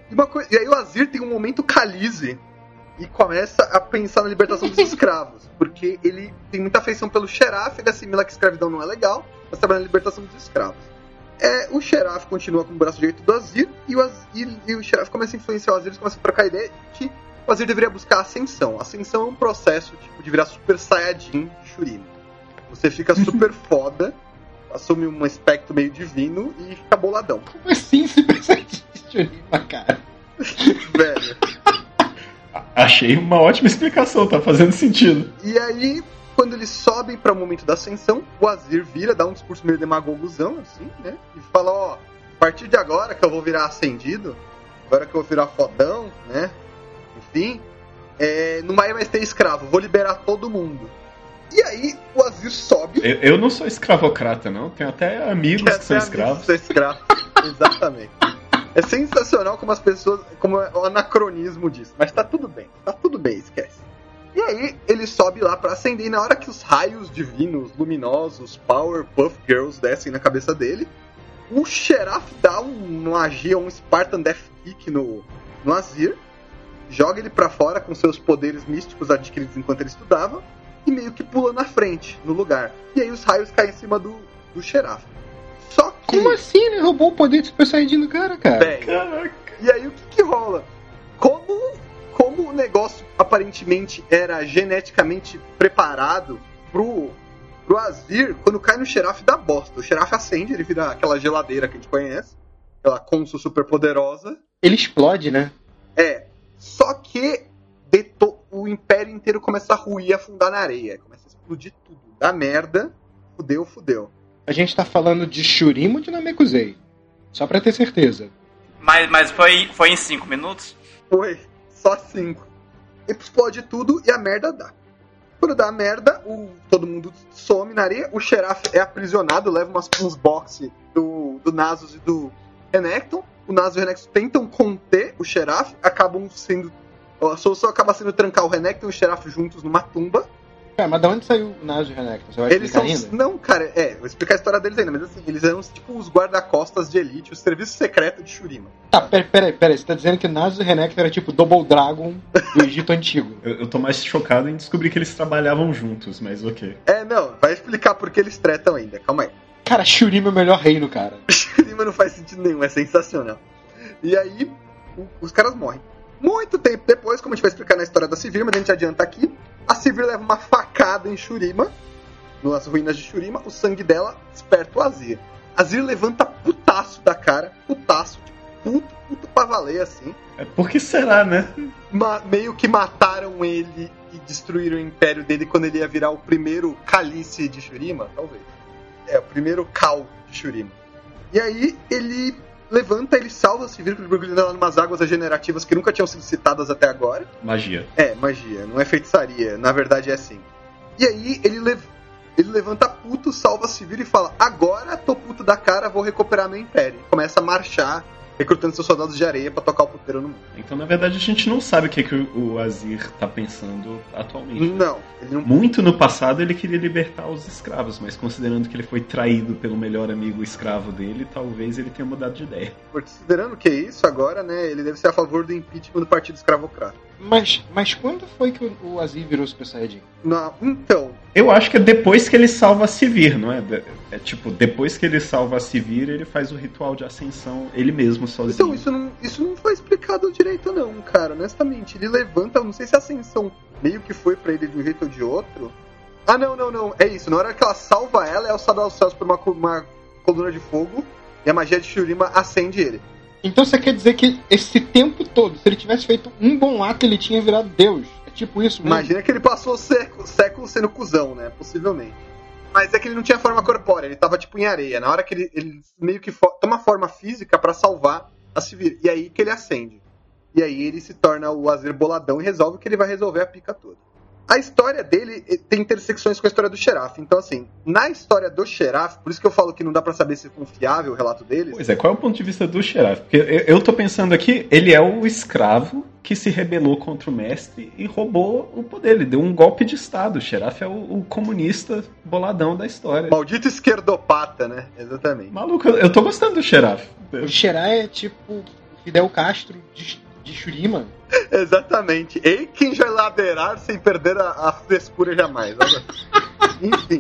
E aí o Azir tem um momento Khaleesi e começa a pensar na libertação dos escravos. Porque ele tem muita afeição pelo Sheraf, ele assimila que escravidão não é legal, mas trabalha na libertação dos escravos. O Sheraf continua com o braço direito do Azir, e o Sheraf começa a influenciar o Azir, eles começam a trocar a ideia que o Azir deveria buscar a ascensão. A ascensão é um processo de virar Super Saiyajin de Shurima. Você fica super foda, assume um aspecto meio divino e fica boladão. Como assim Super Saiyajin de Shurima, cara? Velho. Achei uma ótima explicação, tá fazendo sentido. E aí, quando eles sobem para o momento da ascensão, o Azir vira, dá um discurso meio demagoguzão, assim, né? E fala, a partir de agora que eu vou virar ascendido, agora que eu vou virar fodão, né? Enfim, não vai mais ter escravo, vou liberar todo mundo. E aí, o Azir sobe... Eu não sou escravocrata, não. Tenho até amigos que são escravos. Exatamente. É sensacional como as pessoas... Como é o anacronismo disso. Mas tá tudo bem, esquece. E aí, ele sobe lá pra acender. E na hora que os raios divinos, luminosos, Powerpuff Girls descem na cabeça dele, o Sheraf dá uma magia, um Spartan Death Kick no Azir, joga ele pra fora com seus poderes místicos adquiridos enquanto ele estudava, e meio que pula na frente, no lugar. E aí os raios caem em cima do Sheraf. Só que... Como assim? Ele roubou o poder de Super Saiyajin do cara? Caraca. E aí o que rola? Como o negócio aparentemente era geneticamente preparado pro Azir, quando cai no Sheraf dá bosta. O Sheraf acende, ele vira aquela geladeira que a gente conhece, aquela Consul super poderosa. Ele explode, né? Só que o Império inteiro começa a ruir e afundar na areia. Começa a explodir tudo. Dá merda. Fudeu. A gente tá falando de Shurima ou de Namekusei? Só pra ter certeza. Mas foi em 5 minutos? Foi. Só 5. Explode tudo e a merda dá. Quando dá a merda, todo mundo some na areia. O Sheraf é aprisionado, leva uns boxes do Nasus e do Renekton. O Nasus e o Renekton tentam conter o Sheraf, acabam sendo... A solução acaba sendo trancar o Renekton e o Sheraf juntos numa tumba. Cara, mas da onde saiu o Naso e o Renekton? Você vai Eles explicar são. ainda? Não, cara, vou explicar a história deles ainda, mas assim, eles eram tipo os guarda-costas de elite, o serviço secreto de Shurima. Tá, peraí. Você tá dizendo que Naso e Renekton era tipo Double Dragon do Egito Antigo. Eu tô mais chocado em descobrir que eles trabalhavam juntos, mas ok. Não, vai explicar por que eles tretam ainda, calma aí. Cara, Shurima é o melhor reino, cara. Shurima não faz sentido nenhum, é sensacional. E aí, os caras morrem. Muito tempo depois, como a gente vai explicar na história da Sivir, mas a gente adianta aqui, a Sivir leva uma facada em Shurima, nas ruínas de Shurima, o sangue dela desperta o Azir. Azir levanta putaço da cara, putaço, puto pra valer, assim. Por que será, né? Meio que mataram ele e destruíram o império dele quando ele ia virar o primeiro Calice de Shurima, talvez. O primeiro Cal de Shurima. E aí, ele levanta, ele salva a Sivir mergulhando ela em umas águas regenerativas que nunca tinham sido citadas até agora. Magia. Magia, não é feitiçaria, na verdade é assim. E aí ele levanta puto, salva a Sivir e fala: agora tô puto da cara, vou recuperar meu império. Começa a marchar, recrutando seus soldados de areia pra tocar o puteiro no mundo. Então, na verdade, a gente não sabe o que o Azir tá pensando atualmente. Não, ele não... Muito no passado ele queria libertar os escravos, mas considerando que ele foi traído pelo melhor amigo escravo dele, talvez ele tenha mudado de ideia. Considerando que é isso agora, né, ele deve ser a favor do impeachment do Partido Escravocrata. Mas quando foi que o Azir virou Super Saiyajin? Não, então... Eu acho que é depois que ele salva a Sivir, não é? É tipo, depois que ele salva a Sivir, ele faz o ritual de ascensão ele mesmo, sozinho. Então, isso não foi explicado direito não, cara, honestamente. Ele levanta, não sei se a ascensão meio que foi pra ele de um jeito ou de outro. Ah, não, é isso. Na hora que ela salva ela, é alçada aos céus por uma coluna de fogo, e a magia de Shurima acende ele. Então você quer dizer que esse tempo todo, se ele tivesse feito um bom ato, ele tinha virado Deus? É tipo isso mesmo? Imagina que ele passou séculos sendo cuzão, né? Possivelmente. Mas é que ele não tinha forma corpórea, ele tava tipo em areia. Na hora que ele meio que toma forma física pra salvar a Sivir. E aí que ele acende. E aí ele se torna o Azir boladão e resolve que ele vai resolver a pica toda. A história dele tem intersecções com a história do Xerath. Então, assim, na história do Xerath, por isso que eu falo que não dá pra saber se é confiável o relato deles. Pois é, qual é o ponto de vista do Xerath? Porque eu tô pensando aqui, ele é o escravo que se rebelou contra o mestre e roubou o poder. Ele deu um golpe de estado. O Xerath é o comunista boladão da história. Maldito esquerdopata, né? Exatamente. Maluco, eu tô gostando do Xerath. O Xerath é tipo Fidel Castro de Shurima. Exatamente. Ei, quem vai ladeirar sem perder a frescura jamais. Enfim.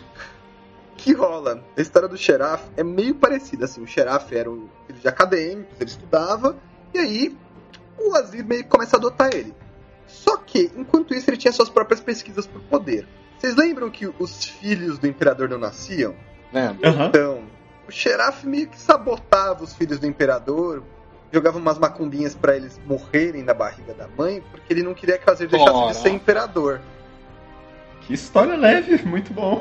O que rola? A história do Xerath é meio parecida. Assim, o Xerath era um filho de acadêmicos, ele estudava, e aí o Azir meio que começa a adotar ele. Só que, enquanto isso, ele tinha suas próprias pesquisas por poder. Vocês lembram que os filhos do imperador não nasciam? Lembro. Uhum. Então, o Xerath meio que sabotava os filhos do imperador, jogava umas macumbinhas pra eles morrerem na barriga da mãe, porque ele não queria que o Azir deixasse de ser imperador. Que história leve, muito bom.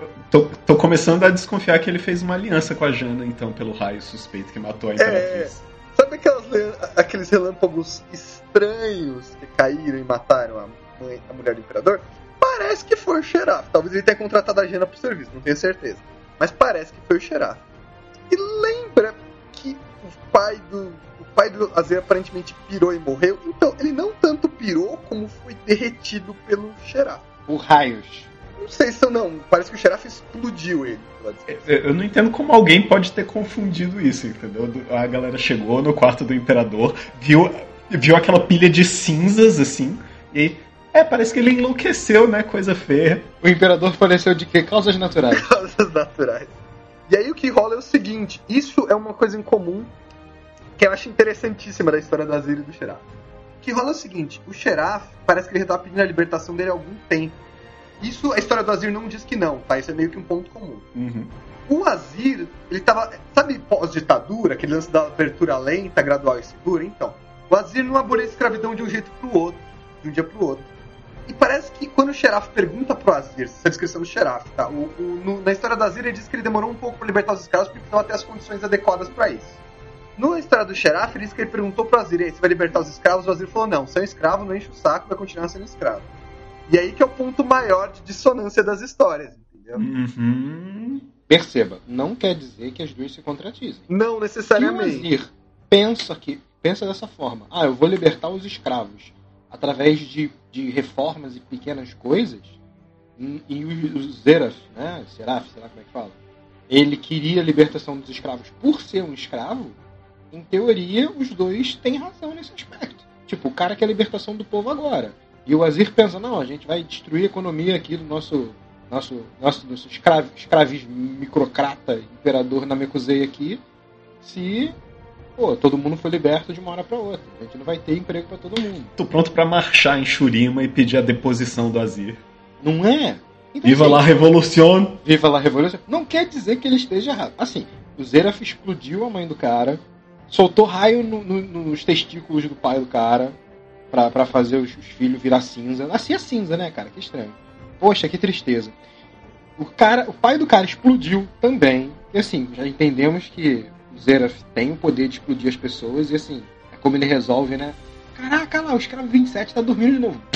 Tô começando a desconfiar que ele fez uma aliança com a Jana, então, pelo raio suspeito que matou a Imperatriz. Sabe aqueles relâmpagos estranhos que caíram e mataram a mulher do imperador? Parece que foi o Xerath. Talvez ele tenha contratado a Jana pro serviço, não tenho certeza. Mas parece que foi o Xerath. E lembra que o pai do Azir aparentemente pirou e morreu? Então, ele não tanto pirou como foi derretido pelo Xerath. Por raios. Não sei se não. Parece que o Xerath explodiu ele. Eu não entendo como alguém pode ter confundido isso, entendeu? A galera chegou no quarto do imperador, viu aquela pilha de cinzas, assim, e aí, parece que ele enlouqueceu, né? Coisa feia. O imperador faleceu de quê? Causas naturais. Causas naturais. E aí o que rola é o seguinte, isso é uma coisa em comum que eu acho interessantíssima da história do Azir e do Xerath. O que rola é o seguinte, o Xerath parece que ele estava pedindo a libertação dele há algum tempo. Isso, a história do Azir não diz que não, tá? Isso é meio que um ponto comum. Uhum. O Azir, ele tava, sabe, pós-ditadura, aquele lance da abertura lenta, gradual e segura? Então, o Azir não aboliu a escravidão de um jeito pro outro, de um dia pro outro. E parece que quando o Xerath pergunta pro Azir, essa é a descrição do Xerath, tá? Na história do Azir ele diz que ele demorou um pouco pra libertar os escravos porque precisava ter as condições adequadas pra isso. Na história do Xerath ele diz que ele perguntou pro Azir, você vai libertar os escravos? O Azir falou, não, você é um escravo, não enche o saco, vai continuar sendo escravo. E aí que é o ponto maior de dissonância das histórias, entendeu? Uhum. Perceba, não quer dizer que as duas se contradizem. Não necessariamente. Se o Azir pensa dessa forma, eu vou libertar os escravos através de reformas e pequenas coisas, E o Zeraf, né? Seraf, sei lá como é que fala. Ele queria a libertação dos escravos por ser um escravo. Em teoria, os dois têm razão nesse aspecto. Tipo, o cara quer a libertação do povo agora. E o Azir pensa, não, a gente vai destruir a economia aqui do nosso escravismo microcrata, imperador Namekusei aqui, se todo mundo foi liberto de uma hora pra outra. A gente não vai ter emprego pra todo mundo. Tô pronto pra marchar em Shurima e pedir a deposição do Azir. Não é? Então, Viva assim, la Revolução! Viva la Revolução! Não quer dizer que ele esteja errado. Assim, o Zeraf explodiu a mãe do cara, soltou raio nos testículos do pai do cara pra fazer os filhos virar cinza. Assim é cinza, né, cara? Que estranho. Poxa, que tristeza. O pai do cara explodiu também. E assim, já entendemos que o Zeraf tem o poder de explodir as pessoas. E assim, é como ele resolve, né? Caraca, lá, o escravo 27 tá dormindo de novo.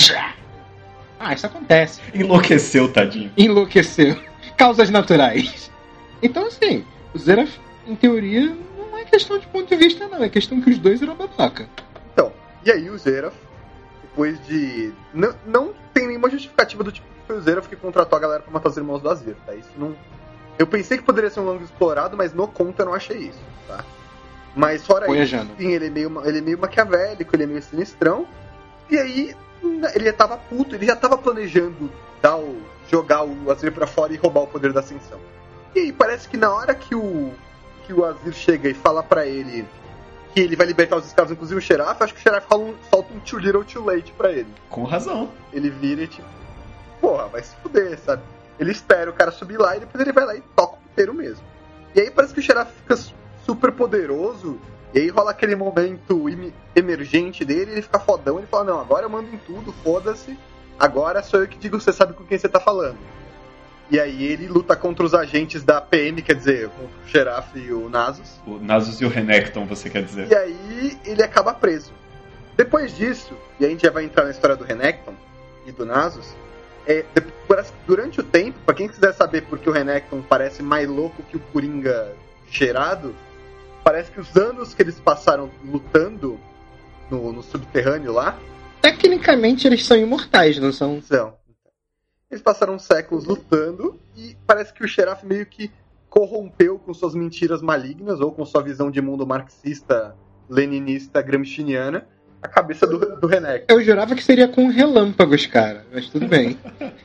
Isso acontece. Enlouqueceu, tadinho. Enlouqueceu. Causas naturais. Então, assim, o Zeraf, em teoria, não é questão de ponto de vista, não. É questão que os dois eram babaca. Então, e aí o Zeraf, depois de... Não tem nenhuma justificativa do tipo que foi o Zeraf que contratou a galera pra matar os irmãos do Azir, tá? Isso não... Eu pensei que poderia ser um longo explorado, mas no conto eu não achei isso, tá? Mas fora isso, sim, ele é meio maquiavélico, ele é meio sinistrão. E aí, ele já tava puto, ele já tava planejando jogar o Azir pra fora e roubar o poder da ascensão. E aí, parece que na hora que o Azir chega e fala pra ele que ele vai libertar os escravos, inclusive o Xerath, acho que o Xerath solta um too little too late pra ele. Com razão. Ele vira e tipo, porra, vai se fuder, sabe? Ele espera o cara subir lá e depois ele vai lá e toca o puteiro mesmo. E aí parece que o Xerath fica super poderoso, e aí rola aquele momento emergente dele, ele fica fodão, ele fala, não, agora eu mando em tudo, foda-se, agora sou eu que digo, você sabe com quem você tá falando. E aí ele luta contra os agentes da PM, quer dizer, com o Xerath e o Nasus. O Nasus e o Renekton, você quer dizer. E aí ele acaba preso. Depois disso, e a gente já vai entrar na história do Renekton e do Nasus, durante o tempo, pra quem quiser saber por que o Renekton parece mais louco que o Coringa cheirado, parece que os anos que eles passaram lutando no subterrâneo lá... Tecnicamente eles são imortais, não são? São. Eles passaram séculos lutando e parece que o Xerath meio que corrompeu com suas mentiras malignas ou com sua visão de mundo marxista, leninista, gramsciana a cabeça do Renekton. Eu jurava que seria com relâmpagos, cara, mas tudo bem.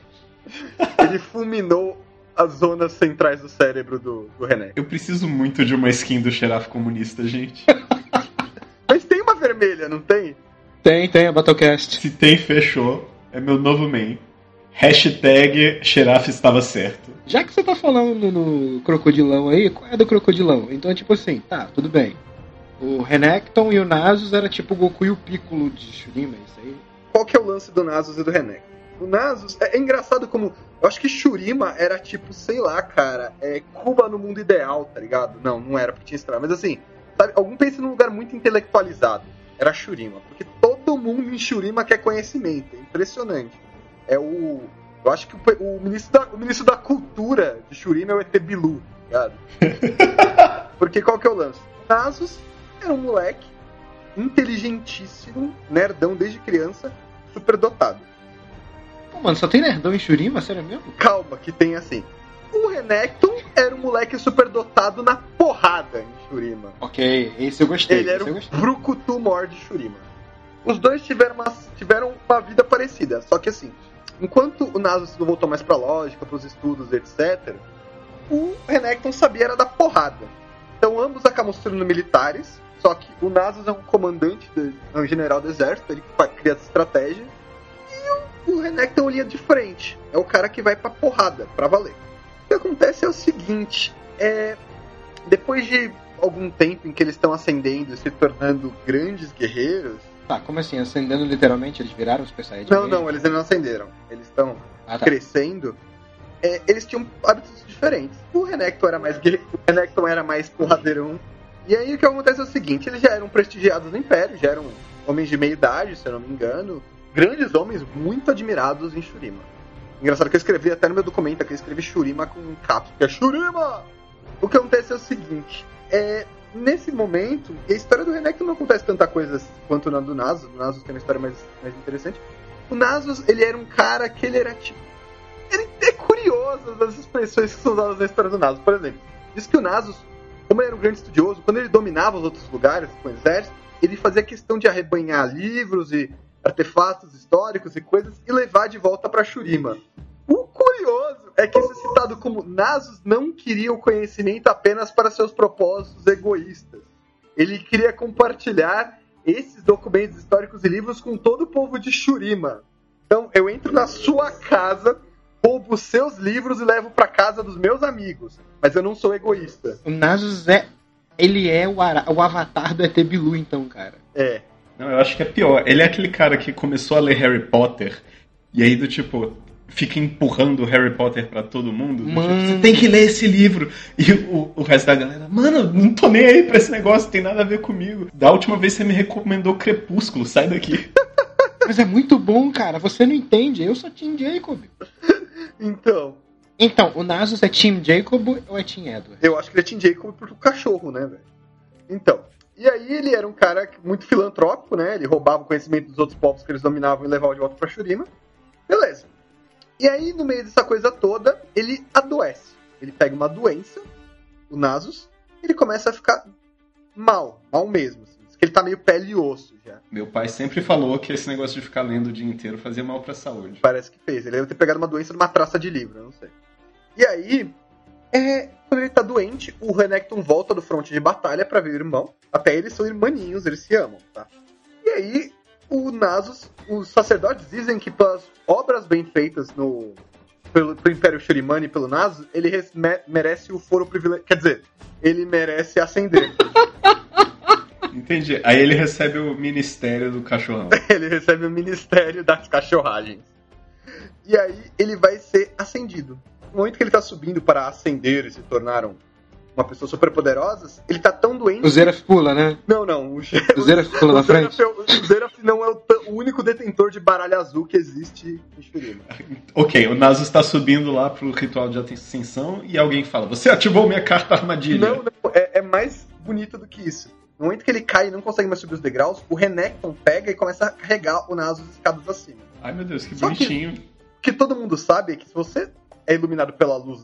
Ele fulminou as zonas centrais do cérebro do Renekton. Eu preciso muito de uma skin do Xerath comunista, gente. Mas tem uma vermelha, não tem? Tem, a Battlecast. Se tem, fechou. É meu novo main. Hashtag Xerath estava certo. Já que você tá falando no crocodilão aí, qual é do crocodilão? Então é tipo assim, tá, tudo bem. O Renekton e o Nasus era tipo o Goku e o Piccolo de Shurima, é isso aí? Qual que é o lance do Nasus e do Renekton? O Nasus, é engraçado como... Eu acho que Shurima era tipo, sei lá, cara, Cuba no mundo ideal, tá ligado? Não era porque tinha escravo, mas assim, sabe, algum pensa num lugar muito intelectualizado. Era Shurima, porque todo mundo em Shurima quer conhecimento, é impressionante. Eu acho que o ministro da cultura de Shurima é o ET Bilu, tá ligado? Porque qual que é o lance? O Nasus era um moleque inteligentíssimo, nerdão desde criança, super dotado. Pô, mano, só tem nerdão em Shurima? Sério mesmo? Calma, que tem assim. O Renekton era um moleque super dotado na porrada em Shurima. Ok, esse eu gostei. Ele era o Brucutu Mor de Shurima. Os dois tiveram uma vida parecida, só que assim, enquanto o Nasus voltou mais pra lógica, pros estudos, etc., o Renekton sabia era da porrada. Então ambos acabam se tornando militares, só que o Nasus é um comandante, um general do exército, ele cria essa estratégia, e o Renekton é uma linha de frente, é o cara que vai pra porrada, pra valer. O que acontece é o seguinte, depois de algum tempo em que eles estão ascendendo e se tornando grandes guerreiros... Tá, como assim? Ascendendo literalmente? Eles viraram Super Saiyajin? Não, eles ainda não ascenderam. Eles estão crescendo. Eles tinham hábitos diferentes. O Renekton era mais porradeirão. E aí o que acontece é o seguinte, eles já eram prestigiados no Império, já eram homens de meia idade, se eu não me engano. Grandes homens muito admirados em Shurima. Engraçado que eu escrevi até no meu documento aqui, eu escrevi Shurima com um caps, que é Shurima! O que acontece é o seguinte, nesse momento, a história do Renekton não acontece tanta coisa quanto na do Nasus. O Nasus tem uma história mais interessante. O Nasus, ele era um cara que ele era tipo... Ele curiosas das expressões que são usadas na história do Nasus. Por exemplo, diz que o Nasus, como ele era um grande estudioso, quando ele dominava os outros lugares com o exército, ele fazia questão de arrebanhar livros e artefatos históricos e coisas e levar de volta para Shurima. O curioso é que isso é citado como Nasus não queria o conhecimento apenas para seus propósitos egoístas. Ele queria compartilhar esses documentos históricos e livros com todo o povo de Shurima. Então, eu entro na sua casa, roubo os seus livros e levo para casa dos meus amigos. Mas eu não sou egoísta. O Nasus ele é o avatar do ET Bilu, então, cara. É. Não, eu acho que é pior. Ele é aquele cara que começou a ler Harry Potter e aí do tipo fica empurrando o Harry Potter pra todo mundo. Tipo, você tem que ler esse livro. E o resto da galera, mano, não tô nem aí pra esse negócio, tem nada a ver comigo. Da última vez você me recomendou Crepúsculo, sai daqui. Mas é muito bom, cara. Você não entende. Eu sou Team Jacob. Então, o Nasus é Team Jacob ou é Team Edward? Eu acho que ele é Team Jacob por cachorro, né, velho? Então, e aí ele era um cara muito filantrópico, né? Ele roubava o conhecimento dos outros povos que eles dominavam e levava de volta pra Shurima. Beleza. E aí, no meio dessa coisa toda, ele adoece. Ele pega uma doença, o Nasus, e ele começa a ficar mal mesmo. Assim. Diz que ele tá meio pele e osso já. Meu pai sempre falou que esse negócio de ficar lendo o dia inteiro fazia mal pra saúde. Parece que fez. Ele deve ter pegado uma doença numa traça de livro, eu não sei. E aí, quando ele tá doente, o Renekton volta do fronte de batalha pra ver o irmão. Até eles são irmãninhos, eles se amam, tá? E aí, o Nasus, os sacerdotes dizem que pelas obras bem feitas pelo Império Shurimani e pelo Nasus, ele merece o foro privilegiado. Quer dizer, ele merece ascender. Entendi. Aí ele recebe o ministério do cachorrão. Ele recebe o ministério das cachorragens. E aí ele vai ser ascendido. No momento que ele tá subindo para ascender e se tornar uma pessoa super poderosa, ele tá tão doente... O Zeraf pula, né? Não. O Zeraf pula na frente? O Zeraf não é o único detentor de baralho azul que existe em Shurima. Ok, o Nasus está subindo lá pro ritual de ascensão e alguém fala, você ativou minha carta armadilha. Não, é mais bonito do que isso. No momento que ele cai e não consegue mais subir os degraus, o Renekton pega e começa a carregar o Nasus escadas acima. Ai meu Deus, que bonitinho. O que todo mundo sabe é que se você é iluminado pela luz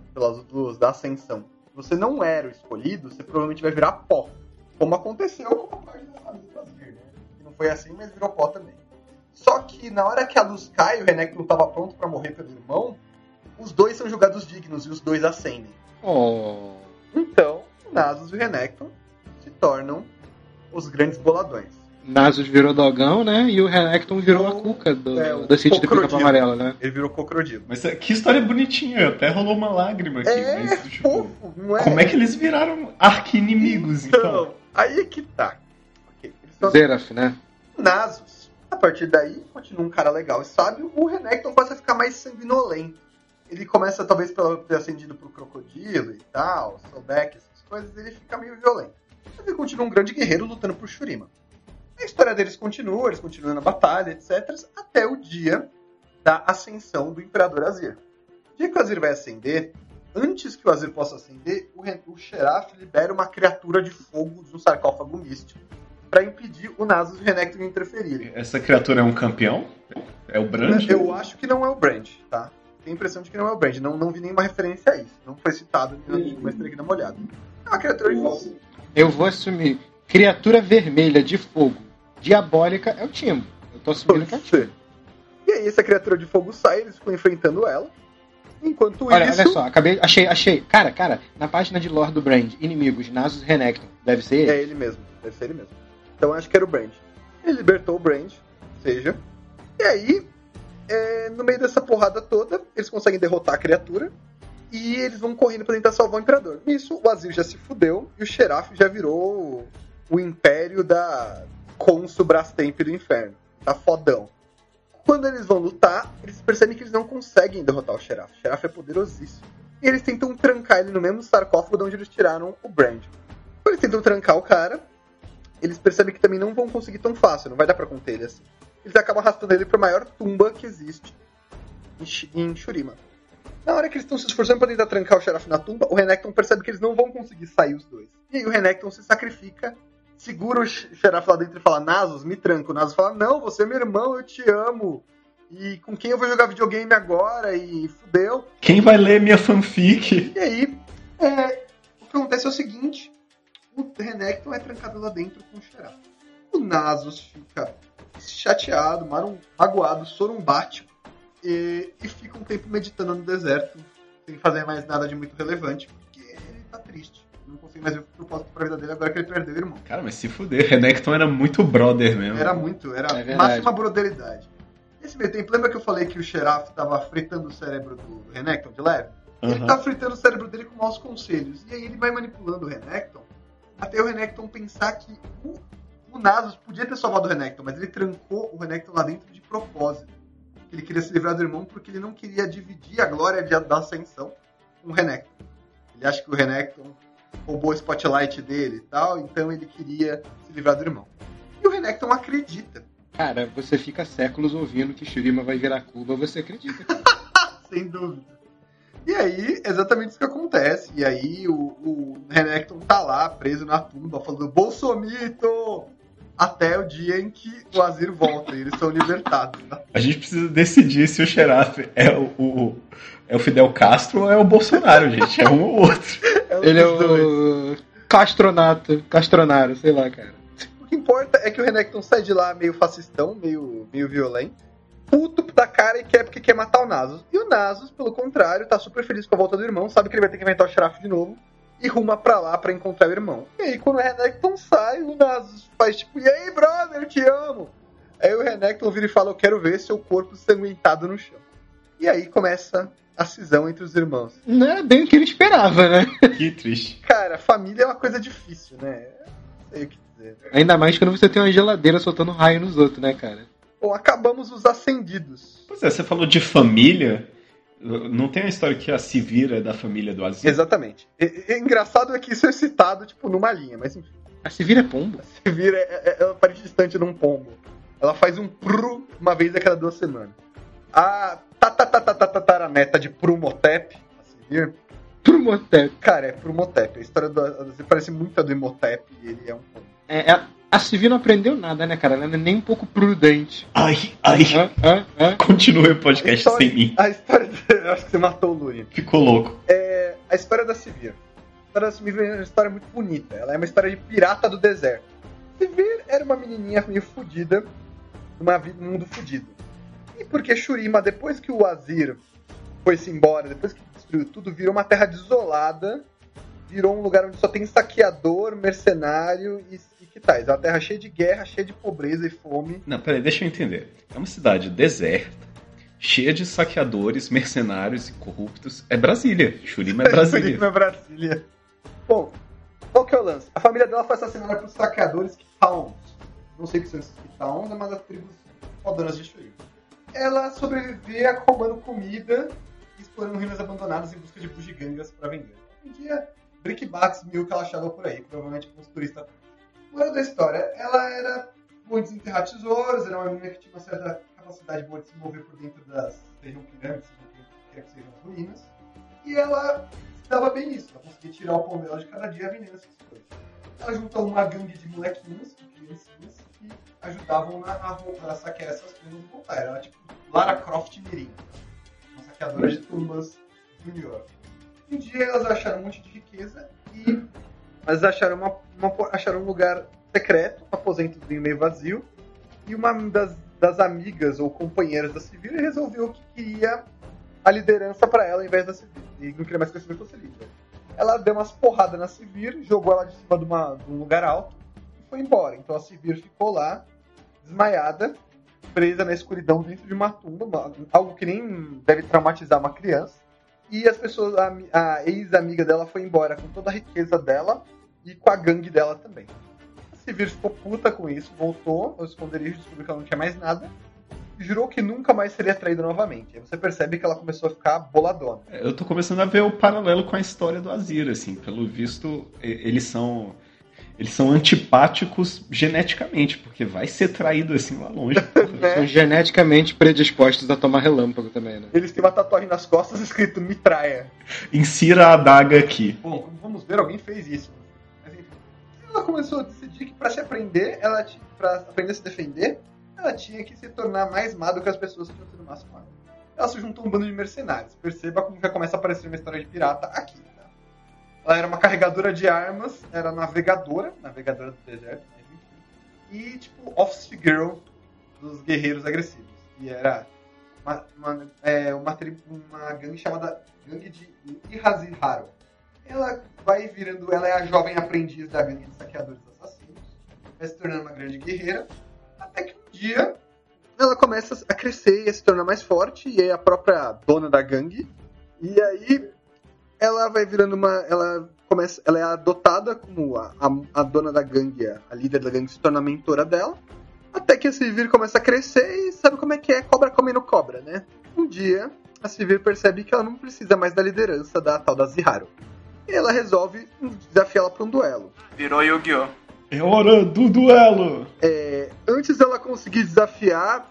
da ascensão, você não era o escolhido, você provavelmente vai virar pó. Como aconteceu com a parte da família brasileira, né? Que não foi assim, mas virou pó também. Só que na hora que a luz cai e o Renekton estava pronto para morrer pelo irmão, os dois são julgados dignos e os dois ascendem. Oh. Então, o Nasus e o Renekton se tornam os grandes boladões. Nasus virou dogão, né? E o Renekton virou a cuca da City do Pica-Pau Amarelo, né? Ele virou cocrodilo. Mas que história bonitinha, até rolou uma lágrima aqui. Mas, tipo, fofo, não é? Como é que eles viraram arqui-inimigos, então? Aí é que tá. Okay, Zeraf, né? Nasus, a partir daí, continua um cara legal e sábio. O Renekton começa a ficar mais sanguinolento. Ele começa, talvez, por ter ascendido pro crocodilo e tal, Sobek, essas coisas, ele fica meio violento. Mas ele continua um grande guerreiro lutando por Shurima. A história deles continua, eles continuam na batalha, etc. Até o dia da ascensão do Imperador Azir. O dia que o Azir vai ascender, antes que o Azir possa ascender, o Xerath libera uma criatura de fogo de um sarcófago místico para impedir o Nasus e o Renekton de interferirem. Essa criatura é um campeão? É o Brand? Eu acho que não é o Brand, tá? Tenho a impressão de que não é o Brand. Não vi nenhuma referência a isso. Não foi citado, mas teria que dar uma olhada. É uma criatura de fogo. Eu vou assumir. Criatura vermelha de fogo diabólica é o Timo. Eu tô assumindo que é o Timo. E aí essa criatura de fogo sai, eles ficam enfrentando ela. Enquanto olha isso... Olha só, achei. Cara, na página de lore do Brand, inimigos, Nasus e Renekton. Deve ser ele? É ele mesmo, deve ser ele mesmo. Então acho que era o Brand. Ele libertou o Brand, seja. E aí, no meio dessa porrada toda, eles conseguem derrotar a criatura. E eles vão correndo pra tentar salvar o Imperador. Nisso, o Azir já se fudeu e o Xerath já virou o império da Consul Brastemp do Inferno. Tá fodão. Quando eles vão lutar, eles percebem que eles não conseguem derrotar o Xerath. O Xerath é poderosíssimo. E eles tentam trancar ele no mesmo sarcófago de onde eles tiraram o Brand. Quando eles tentam trancar o cara, eles percebem que também não vão conseguir tão fácil. Não vai dar pra conter ele assim. Eles acabam arrastando ele pra maior tumba que existe em Shurima. Na hora que eles estão se esforçando pra tentar trancar o Xerath na tumba, o Renekton percebe que eles não vão conseguir sair os dois. E aí o Renekton se sacrifica, segura o Xerath lá dentro e fala, Nasus, me tranca. O Nasus fala, não, você é meu irmão, eu te amo. E com quem eu vou jogar videogame agora? E fudeu. Quem vai ler minha fanfic? E aí, o que acontece é o seguinte: o Renekton é trancado lá dentro com o Xerath. O Nasus fica chateado, magoado, sorumbático e fica um tempo meditando no deserto, sem fazer mais nada de muito relevante, porque ele tá triste. Não consegue mais ver o propósito pra vida dele agora que ele perdeu o irmão. Cara, mas se fuder, Renekton era muito brother mesmo. Era máxima broderidade. Nesse meio tempo, lembra que eu falei que o Xerath tava fritando o cérebro do Renekton de leve? Ele tá fritando o cérebro dele com maus conselhos. E aí ele vai manipulando o Renekton até o Renekton pensar que o Nasus podia ter salvado o Renekton, mas ele trancou o Renekton lá dentro de propósito. Ele queria se livrar do irmão porque ele não queria dividir a glória da ascensão com o Renekton. Ele acha que o Renekton roubou o spotlight dele e tal, então ele queria se livrar do irmão. E o Renekton acredita. Cara, você fica séculos ouvindo que Shurima vai virar Cuba, você acredita, cara. Sem dúvida. E aí, exatamente isso que acontece. E aí, o Renekton tá lá, preso na tumba, falando Bolsomito! Até o dia em que o Azir volta e eles são libertados. Tá? A gente precisa decidir se o Xerath é o Fidel Castro ou é o Bolsonaro, gente. É um ou outro. Ele é o Castronaro, sei lá, cara. O que importa é que o Renekton sai de lá meio fascistão, meio violento, puto da cara e quer matar o Nasus. E o Nasus, pelo contrário, tá super feliz com a volta do irmão, sabe que ele vai ter que inventar o Xerath de novo e ruma pra lá pra encontrar o irmão. E aí, quando o Renekton sai, o Nasus faz tipo, e aí, brother, te amo! Aí o Renekton vira e fala, eu quero ver seu corpo sanguentado no chão. E aí começa a cisão entre os irmãos. Não é bem o que ele esperava, né? Que triste. Cara, família é uma coisa difícil, né? Não sei o que dizer. Ainda mais quando você tem uma geladeira soltando raio nos outros, né, cara? Bom, acabamos os ascendidos. Pois é, você falou de família. Não tem uma história que a Sivir é da família do Azir? Exatamente. Engraçado é que isso é citado, tipo, numa linha, mas enfim. A Sivir é pombo? A Sivir ela parece distante de um pombo. Ela faz um pru uma vez a cada 2 semanas. A tataraneta de Prumotep, a Sivir. Prumotep. Cara, é Prumotep. A história do Azir parece muito a do Imhotep e ele é um pombo. A Sivir não aprendeu nada, né, cara? Ela não é nem um pouco prudente. Ai. Continue o podcast sem mim. A história... Eu acho que você matou o Lúria. Ficou louco. A história da Sivir. A história da Sivir é uma história muito bonita. Ela é uma história de pirata do deserto. Sivir era uma menininha meio fodida, num mundo fodido. E porque Shurima, depois que o Azir foi-se embora, depois que destruiu tudo, virou uma terra desolada, virou um lugar onde só tem saqueador, mercenário e que tais. É uma terra cheia de guerra, cheia de pobreza e fome. Não, peraí, deixa eu entender. É uma cidade deserta, cheia de saqueadores, mercenários e corruptos. É Brasília. Shurima é Brasília. Shurima é Brasília. Bom, qual que é o lance? A família dela foi assassinada por saqueadores Kitauns. Não sei o que são esses Kitauns, é uma das tribos fodonas de Shurima. Ela sobrevivia roubando comida e explorando ruínas abandonadas em busca de bugigangas para vender. Um dia, brickbats mil que ela achava por aí, provavelmente com os turistas. Moral da história, ela era boa em desenterrar tesouros, era uma menina que tinha uma certa capacidade boa de se mover por dentro das sejam pirâmides, quer que sejam as ruínas, e ela se dava bem nisso, ela conseguia tirar o pão dela de cada dia vendendo essas coisas. Ela juntou uma gangue de molequinhos, de criancinhas, que ajudavam a saquear essas coisas e voltar. Era tipo Lara Croft Mirim, uma saqueadora de tumbas junior. Um dia elas acharam um monte de riqueza e elas acharam um lugar secreto, um aposentozinho meio vazio, e uma das amigas ou companheiras da Sivir resolveu que queria a liderança para ela ao invés da Sivir, e não queria mais que a Sivir fosse líder. Ela deu umas porradas na Sivir, jogou ela de cima de um lugar alto e foi embora. Então a Sivir ficou lá, desmaiada, presa na escuridão dentro de uma tumba, algo que nem deve traumatizar uma criança. E as pessoas, a ex-amiga dela foi embora com toda a riqueza dela e com a gangue dela também. A Sivir ficou puta com isso, voltou ao esconderijo, descobriu que ela não tinha mais nada e jurou que nunca mais seria traída novamente. Aí você percebe que ela começou a ficar boladona. Eu tô começando a ver o paralelo com a história do Azir, assim. Pelo visto, eles são antipáticos geneticamente, porque vai ser traído assim lá longe. São geneticamente predispostos a tomar relâmpago também, né? Eles têm uma tatuagem nas costas escrito me traia. Insira a adaga aqui. Bom, como vamos ver, alguém fez isso. Mas enfim, ela começou a decidir que pra aprender a se defender, ela tinha que se tornar mais má do que as pessoas que tinham sido más com ela. Ela se juntou a um bando de mercenários. Perceba como já começa a aparecer uma história de pirata aqui. Tá? Ela era uma carregadora de armas, era navegadora do deserto, mas enfim. E, tipo, office girl dos guerreiros agressivos. E era uma gangue chamada Gangue de Ihaziharo. Ela vai virando, ela é a jovem aprendiz da gangue de saqueadores assassinos, vai se tornando uma grande guerreira, até que um dia ela começa a crescer e a se tornar mais forte, e é a própria dona da gangue, e aí ela vai virando ela é adotada como a dona da gangue, a líder da gangue se torna a mentora dela, até que a Sivir começa a crescer e sabe como é que é, cobra comendo cobra, né? Um dia, a Sivir percebe que ela não precisa mais da liderança da tal da Ziharu. E ela resolve desafiá-la para um duelo. Virou Yu-Gi-Oh! É hora do duelo! Antes dela conseguir desafiar,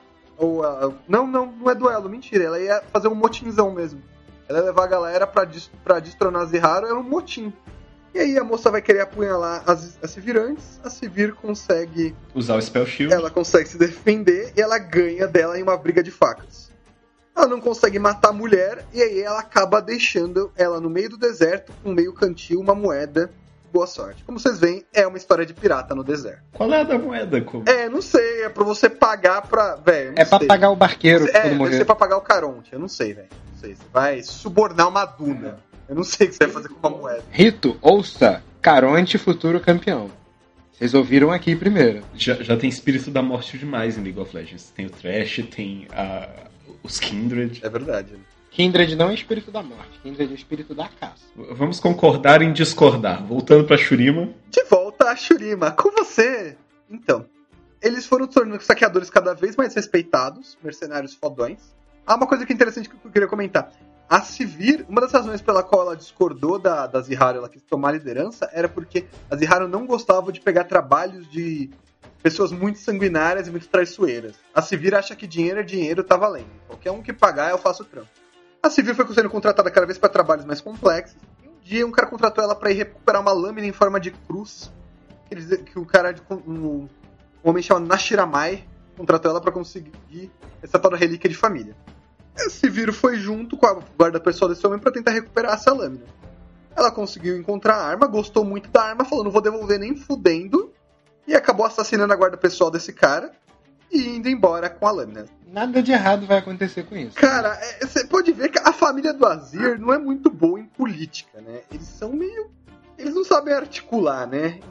não é duelo, mentira, ela ia fazer um motinzão mesmo. Ela ia levar a galera pra destronar a Ziharu, era um motim. E aí a moça vai querer apunhalar a Sivir antes, a Sivir consegue usar o Spell Shield. Ela consegue se defender e ela ganha dela em uma briga de facas. Ela não consegue matar a mulher e aí ela acaba deixando ela no meio do deserto, com meio cantil, uma moeda. Boa sorte. Como vocês veem, é uma história de pirata no deserto. Qual é a da moeda, Como? Não sei, é pra você pagar pra... Velho, pra pagar o barqueiro quando morrer. Deve ser pra pagar o Caronte, eu não sei, velho. Não sei, você vai subornar uma duna. Eu não sei o que você vai fazer com uma moeda. Rito, ouça, Caronte, futuro campeão. Vocês ouviram aqui primeiro. Já tem espírito da morte demais em League of Legends. Tem o Thresh, tem os Kindred. É verdade. Kindred não é espírito da morte, Kindred é espírito da caça. Vamos concordar em discordar. Voltando pra Shurima. De volta a Shurima, com você! Então, eles foram tornando saqueadores cada vez mais respeitados, mercenários fodões. Uma coisa que é interessante que eu queria comentar. A Sivir, uma das razões pela qual ela discordou da Ziharu, ela quis tomar a liderança, era porque a Ziharu não gostava de pegar trabalhos de pessoas muito sanguinárias e muito traiçoeiras. A Sivir acha que dinheiro é dinheiro, tá valendo. Qualquer um que pagar, eu faço o trampo. A Sivir foi sendo contratada cada vez para trabalhos mais complexos. E um dia um cara contratou ela para ir recuperar uma lâmina em forma de cruz. Que o cara, um homem chamado Nashiramai, contratou ela para conseguir essa tal da relíquia de família. A Sivir foi junto com a guarda pessoal desse homem para tentar recuperar essa lâmina. Ela conseguiu encontrar a arma, gostou muito da arma, falou, não vou devolver nem fudendo, e acabou assassinando a guarda pessoal desse cara e indo embora com a lâmina. Nada de errado vai acontecer com isso. Cara, você pode ver que a família do Azir não é muito boa em política, né? Eles são meio... Eles não sabem articular, né?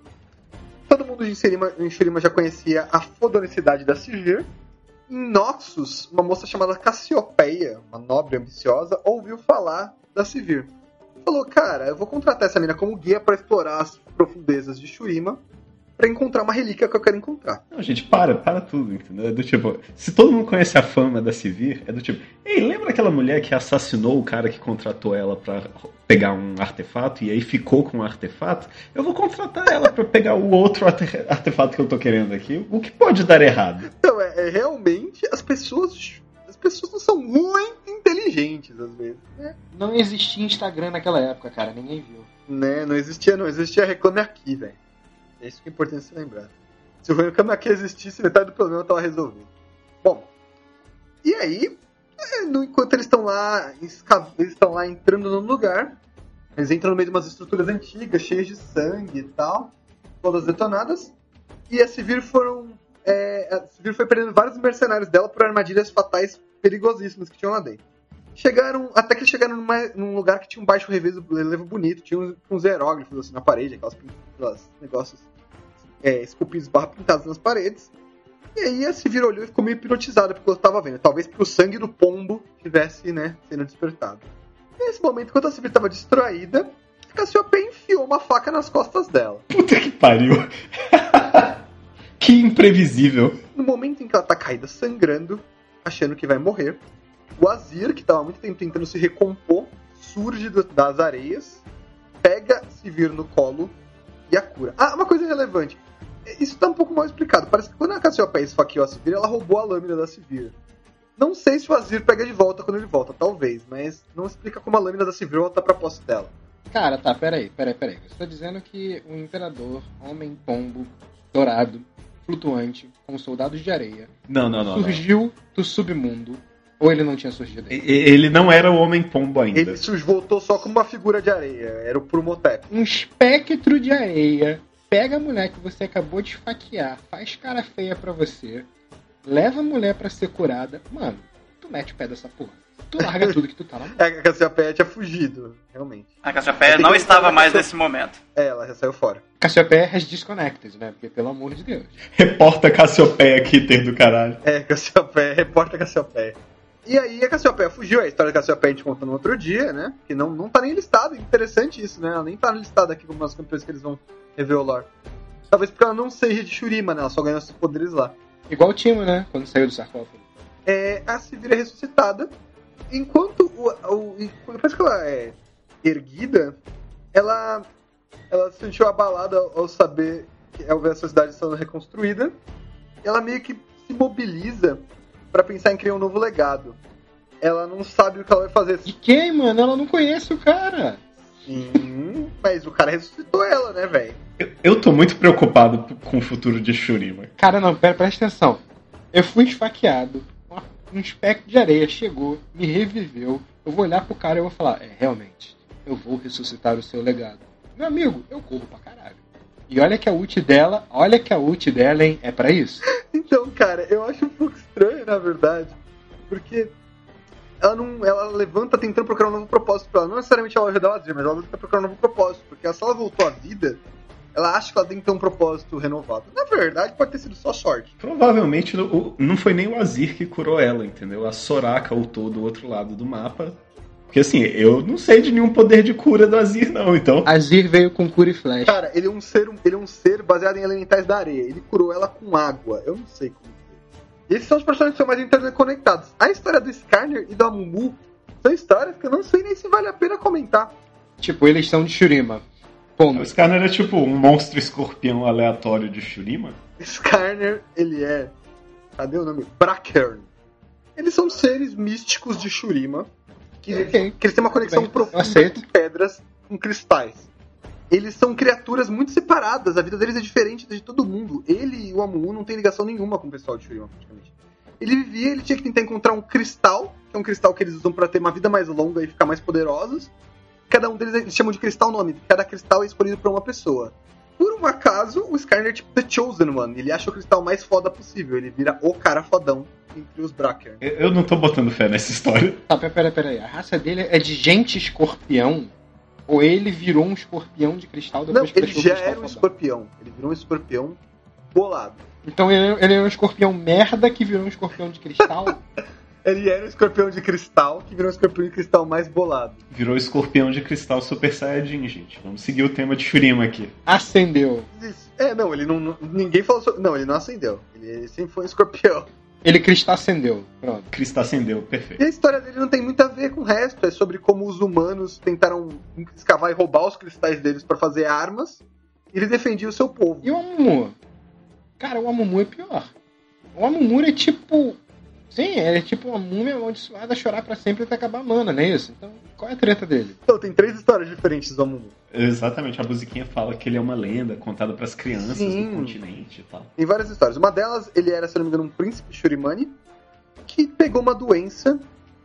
Todo mundo em Shurima já conhecia a fodonicidade da Sivir. Em Noxus, uma moça chamada Cassiopeia, uma nobre ambiciosa, ouviu falar da Sivir. Falou, cara, eu vou contratar essa mina como guia para explorar as profundezas de Shurima pra encontrar uma relíquia que eu quero encontrar. Não, gente, para tudo, entendeu? É do tipo, se todo mundo conhece a fama da Sivir, é do tipo, ei, lembra aquela mulher que assassinou o cara que contratou ela pra pegar um artefato e aí ficou com o artefato? Eu vou contratar ela pra pegar o outro artefato que eu tô querendo aqui. O que pode dar errado? Então, realmente, as pessoas não são muito inteligentes, às vezes, né? Não existia Instagram naquela época, cara, ninguém viu. Né, não existia Reclame Aqui, velho. É isso que é importante se lembrar. Se o Reclame Aqui existisse, metade do problema estava resolvido. Bom, e aí, enquanto eles estão lá entrando no lugar, eles entram no meio de umas estruturas antigas, cheias de sangue e tal, todas detonadas, e a Sivir foi prendendo vários mercenários dela por armadilhas fatais perigosíssimas que tinham lá dentro. Até que eles chegaram num lugar que tinha um baixo relevo bonito, tinha uns hieróglifos assim na parede, aqueles negócios esculpidos pintados nas paredes. E aí a Sivir olhou e ficou meio hipnotizada porque ela estava vendo. Talvez porque o sangue do pombo estivesse, sendo despertado. E nesse momento, enquanto a Sivir estava distraída, a Cassiopeia enfiou uma faca nas costas dela. Puta que pariu! Que imprevisível! No momento em que ela está caída sangrando, achando que vai morrer, o Azir, que estava há muito tempo tentando se recompor, surge das areias, pega Sivir no colo e a cura. Uma coisa relevante. Isso está um pouco mal explicado. Parece que quando a Cassiopeia esfaqueou a Sivir, ela roubou a lâmina da Sivir. Não sei se o Azir pega de volta quando ele volta, talvez, mas não explica como a lâmina da Sivir volta pra posse dela. Cara, tá, peraí. Você tá dizendo que o Imperador, Homem-Pombo, Dourado, flutuante com soldados de areia Não. surgiu do submundo, ou ele não tinha surgido ainda? Ele não era o Homem-Pombo ainda. Ele voltou só como uma figura de areia. Era o Promotep. Um espectro de areia pega a mulher que você acabou de esfaquear, faz cara feia pra você, leva a mulher pra ser curada. Mano, tu mete o pé dessa porra. Tu larga tudo que tu tá lá. A Cassiopeia tinha fugido, realmente. A Cassiopeia não estava mais nesse momento. Ela já saiu fora. Cassiopeia has disconnected, né? Porque, pelo amor de Deus. Reporta Cassiopeia, Kitter do caralho. Cassiopeia, repórter Cassiopeia. E aí a Cassiopeia fugiu, a história da Cassiopeia a gente conta no outro dia, né? Que não tá nem listado, interessante isso, né? Ela nem tá listada aqui como as campeões que eles vão rever o lore. Talvez porque ela não seja de Shurima, né? Ela só ganhou esses poderes lá. Igual o Timo, né? Quando saiu do sarcófago. A Sivir é ressuscitada, enquanto depois que ela é erguida, ela se sentiu abalada ao saber que ao ver a sociedade sendo reconstruída. Ela meio que se mobiliza pra pensar em criar um novo legado. Ela não sabe o que ela vai fazer. De quem, mano? Ela não conhece o cara. Sim, mas o cara ressuscitou ela, né, velho? Eu tô muito preocupado com o futuro de Shurima. Cara, não, presta atenção. Eu fui esfaqueado, um espectro de areia chegou, me reviveu. Eu vou olhar pro cara e vou falar, realmente, eu vou ressuscitar o seu legado. Meu amigo, eu corro pra caralho. E olha que a ult dela, hein, é pra isso. Então, cara, eu acho um pouco estranho, na verdade, porque ela levanta tentando procurar um novo propósito pra ela. Não necessariamente ela ajudar o Azir, mas ela tenta procurar um novo propósito, porque se ela voltou à vida, ela acha que ela tem que ter um propósito renovado. Na verdade, pode ter sido só sorte. Provavelmente não foi nem o Azir que curou ela, entendeu? A Soraka ultou do outro lado do mapa. Porque assim, eu não sei de nenhum poder de cura do Azir, não, então. Azir veio com cura e flecha. Cara, ele é um ser baseado em elementais da areia. Ele curou ela com água. Eu não sei como. E esses são os personagens que são mais interconectados. A história do Skarner e do Amumu são histórias que eu não sei nem se vale a pena comentar. Tipo, eles são de Shurima. Ponto. O Skarner é tipo um monstro escorpião aleatório de Shurima? Skarner, ele é... Cadê o nome? Brackern. Eles são seres místicos de Shurima que eles têm uma conexão profunda com pedras, com cristais. Eles são criaturas muito separadas, a vida deles é diferente de todo mundo. Ele e o Amumu não tem ligação nenhuma com o pessoal de Shurima, praticamente. Ele tinha que tentar encontrar um cristal, que é um cristal que eles usam pra ter uma vida mais longa e ficar mais poderosos. Cada um deles eles chamam de cristal nome, cada cristal é escolhido por uma pessoa. Por um acaso, o Skarner é tipo The Chosen One, ele acha o cristal mais foda possível, ele vira o cara fodão entre os Brackern. Eu não tô botando fé nessa história. Tá, pera aí, a raça dele é de gente escorpião? Ou ele virou um escorpião de cristal depois que ele já era um escorpião. Ele virou um escorpião bolado. Então ele é um escorpião merda que virou um escorpião de cristal? Ele era um escorpião de cristal que virou um escorpião de cristal mais bolado. Virou escorpião de cristal Super Saiyajin, gente. Vamos seguir o tema de Shurima aqui. Acendeu. Não, ele não... Ninguém falou sobre... Não, ele não acendeu. Ele sempre foi um escorpião. Ele cristacendeu. Pronto. Cristacendeu, perfeito. E a história dele não tem muito a ver com o resto. É sobre como os humanos tentaram escavar e roubar os cristais deles pra fazer armas. E ele defendia o seu povo. E o Amumu? Cara, o Amumu é pior. O Amumu é tipo... Sim, ele é tipo uma múmia amaldiçoada a chorar pra sempre até acabar a mana, não é isso? Então, qual é a treta dele? Então, tem 3 histórias diferentes do Amumu. Exatamente, a musiquinha fala que ele é uma lenda contada pras crianças do continente e tal. Tem várias histórias. Uma delas, ele era, se não me engano, um príncipe Shurimani que pegou uma doença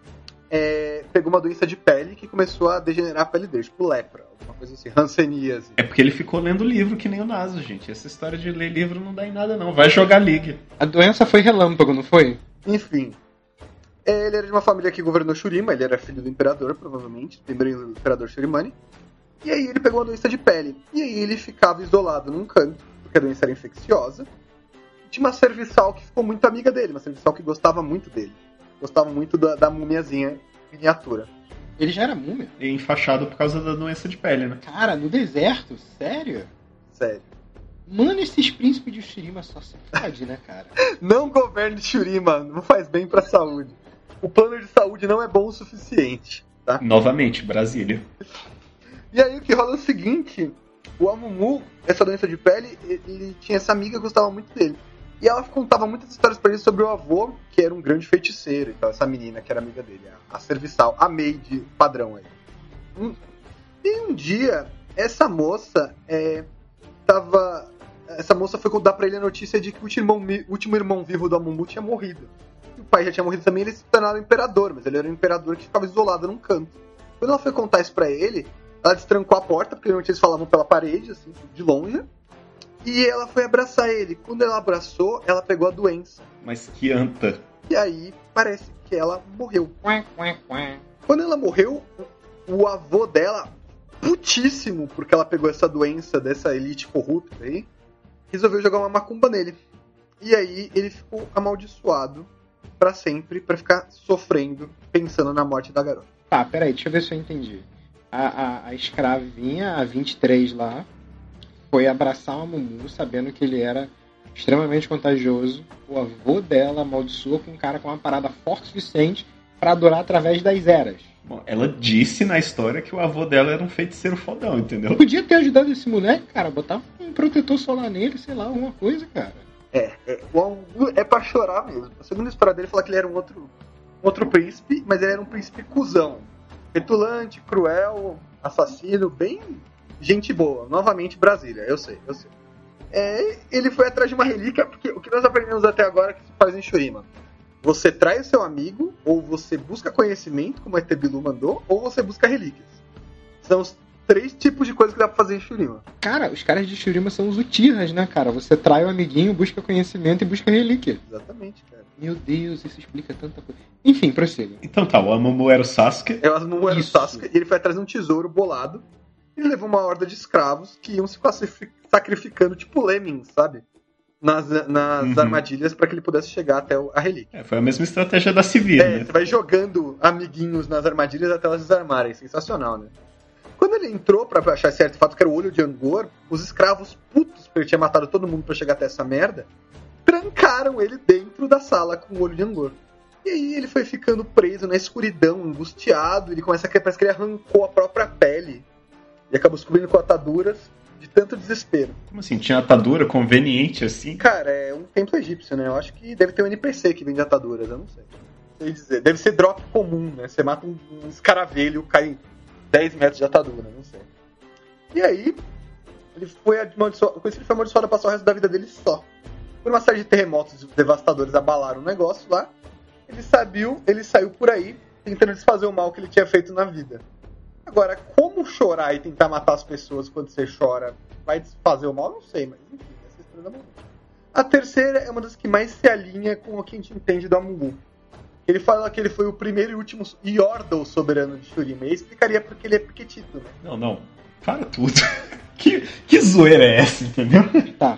de pele que começou a degenerar a pele dele, tipo lepra, alguma coisa assim, hanseníase. É porque ele ficou lendo livro que nem o Naso, gente. Essa história de ler livro não dá em nada, não. Vai jogar League. A doença foi relâmpago, não foi? Enfim, ele era de uma família que governou Shurima, ele era filho do imperador, provavelmente, primeiro imperador Shurimani. E aí ele pegou uma doença de pele. E aí ele ficava isolado num canto, porque a doença era infecciosa. Tinha uma serviçal que ficou muito amiga dele, uma serviçal que gostava muito dele. Gostava muito da mumiazinha miniatura. Ele já era múmia? E enfaixado por causa da doença de pele, né? Cara, no deserto? Sério? Sério. Mano, esses príncipes de Shurima só se fode, né, cara? Não governe Shurima, não faz bem pra saúde. O plano de saúde não é bom o suficiente, tá? Novamente, Brasília. E aí o que rola é o seguinte, o Amumu, essa doença de pele, ele tinha essa amiga que gostava muito dele. E ela contava muitas histórias pra ele sobre o avô, que era um grande feiticeiro, então essa menina que era amiga dele, a serviçal, a maid padrão aí. E um dia, essa moça essa moça foi dar pra ele a notícia de que o último irmão vivo do Amumu tinha morrido. E o pai já tinha morrido também, ele se tornava imperador, mas ele era um imperador que ficava isolado num canto. Quando ela foi contar isso pra ele, ela destrancou a porta, porque normalmente eles falavam pela parede, assim, de longe. E ela foi abraçar ele. Quando ela abraçou, ela pegou a doença. Mas que anta. E aí, parece que ela morreu. Quando ela morreu, o avô dela, putíssimo porque ela pegou essa doença dessa elite corrupta aí, resolveu jogar uma macumba nele. E aí ele ficou amaldiçoado pra sempre, pra ficar sofrendo, pensando na morte da garota. Tá, peraí, deixa eu ver se eu entendi. A escravinha, a 23 lá, foi abraçar o Amumu, sabendo que ele era extremamente contagioso. O avô dela amaldiçoou com um cara com uma parada forte o suficiente pra durar através das eras. Bom, ela disse na história que o avô dela era um feiticeiro fodão, entendeu? Podia ter ajudado esse moleque, cara, botar um protetor solar nele, sei lá, alguma coisa, cara. O Amumu é pra chorar mesmo. A segunda história dele fala que ele era um outro príncipe, mas ele era um príncipe cuzão. Petulante, cruel, assassino, bem gente boa. Novamente Brasília, eu sei. Ele foi atrás de uma relíquia, porque o que nós aprendemos até agora é que se faz em Shurima. Você trai o seu amigo, ou você busca conhecimento, como a Etebilu mandou, ou você busca relíquias. São os 3 tipos de coisas que dá pra fazer em Shurima. Cara, os caras de Shurima são os Uchihas, né, cara? Você trai o amiguinho, busca conhecimento e busca relíquia. Exatamente, cara. Meu Deus, isso explica tanta coisa. Enfim, prossiga. Então tá, o Amumu era o Sasuke. O Amumu era o Sasuke, e ele foi atrás de um tesouro bolado. E levou uma horda de escravos que iam se sacrificando, tipo lemmings, sabe? Nas armadilhas pra que ele pudesse chegar até a relíquia. Foi a mesma estratégia da Sivir, né? Você vai jogando amiguinhos nas armadilhas até elas desarmarem. Sensacional, né? Quando ele entrou pra achar esse artefato, que era o olho de Angor, os escravos putos, porque ele tinha matado todo mundo pra chegar até essa merda, trancaram ele dentro da sala com o olho de Angor. E aí ele foi ficando preso na escuridão, angustiado, ele parece que ele arrancou a própria pele e acabou se cobrindo com ataduras de tanto desespero. Como assim? Tinha atadura conveniente assim? Cara, é um templo egípcio, né? Eu acho que deve ter um NPC que vende ataduras, eu não sei. Não sei dizer. Deve ser drop comum, né? Você mata um escaravelho, cai 10 metros de atadura, não sei. E aí, ele foi amaldiçoado, com isso ele foi amaldiçoado a passar o resto da vida dele só. Por uma série de terremotos devastadores abalaram o negócio lá, ele saiu por aí tentando desfazer o mal que ele tinha feito na vida. Agora, como chorar e tentar matar as pessoas quando você chora vai desfazer o mal? Eu não sei, mas enfim, essa é a história da Amumu. A terceira é uma das que mais se alinha com o que a gente entende do Amumu. Ele fala que ele foi o primeiro e último Yordle soberano de Shurima. E explicaria porque ele é pequetito, né? Não. Para tudo. que zoeira é essa, entendeu? Tá.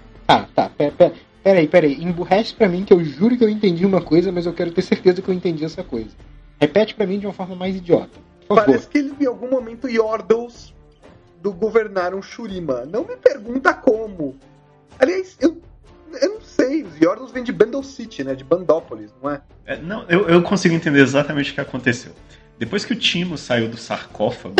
Peraí. Emburrece pra mim que eu juro que eu entendi uma coisa, mas eu quero ter certeza que eu entendi essa coisa. Repete pra mim de uma forma mais idiota. Por favor. Parece que ele, em algum momento, Yordles governaram Shurima. Não me pergunta como. Aliás, eu não sei. Os Yordles vêm de Bandle City, né? De Bandópolis, não é? Não, eu consigo entender exatamente o que aconteceu. Depois que o Timo saiu do sarcófago...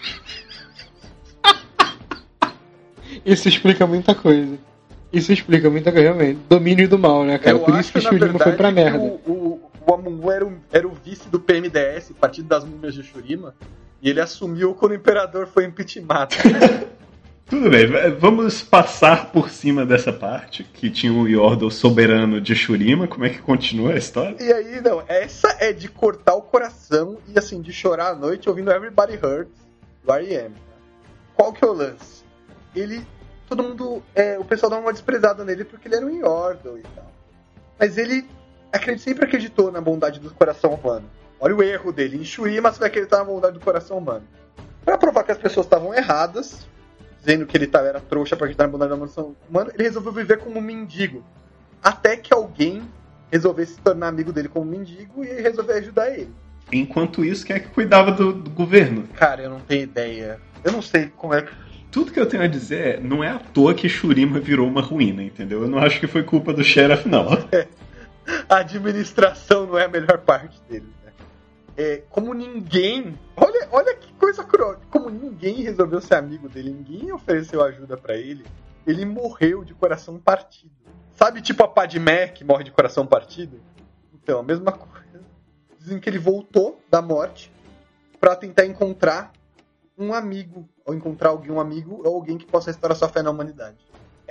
Isso explica muita coisa. Realmente. Domínio do mal, né, cara? Por isso que Shurima foi pra merda. O Amumu era o vice do PMDS, Partido das Múmias de Shurima, e ele assumiu quando o imperador foi impeachmentado. Tudo bem, vamos passar por cima dessa parte, que tinha o Yordle soberano de Shurima. Como é que continua a história? E aí, não, essa é de cortar o coração e, assim, de chorar à noite ouvindo Everybody Hurts do R.E.M. Qual que é o lance? Todo mundo, o pessoal dá uma desprezada nele porque ele era um Yordle e tal. Mas ele sempre acreditou na bondade do coração humano. Olha o erro dele. Em Shurima você vai acreditar na bondade do coração humano. Pra provar que as pessoas estavam erradas, dizendo que ele era trouxa pra acreditar na bondade do coração humano, ele resolveu viver como um mendigo. Até que alguém resolvesse se tornar amigo dele como mendigo e resolver ajudar ele. Enquanto isso, quem é que cuidava do governo? Cara, eu não tenho ideia. Eu não sei como é que... Tudo que eu tenho a dizer não é à toa que Shurima virou uma ruína, entendeu? Eu não acho que foi culpa do Sheriff, não. A administração não é a melhor parte dele, né? Como ninguém... Olha que coisa cruel. Como ninguém resolveu ser amigo dele, ninguém ofereceu ajuda pra ele, ele morreu de coração partido. Sabe, tipo a Padmé, que morre de coração partido? Então, a mesma coisa. Dizem que ele voltou da morte pra tentar encontrar um amigo, ou encontrar um amigo ou alguém que possa restaurar sua fé na humanidade.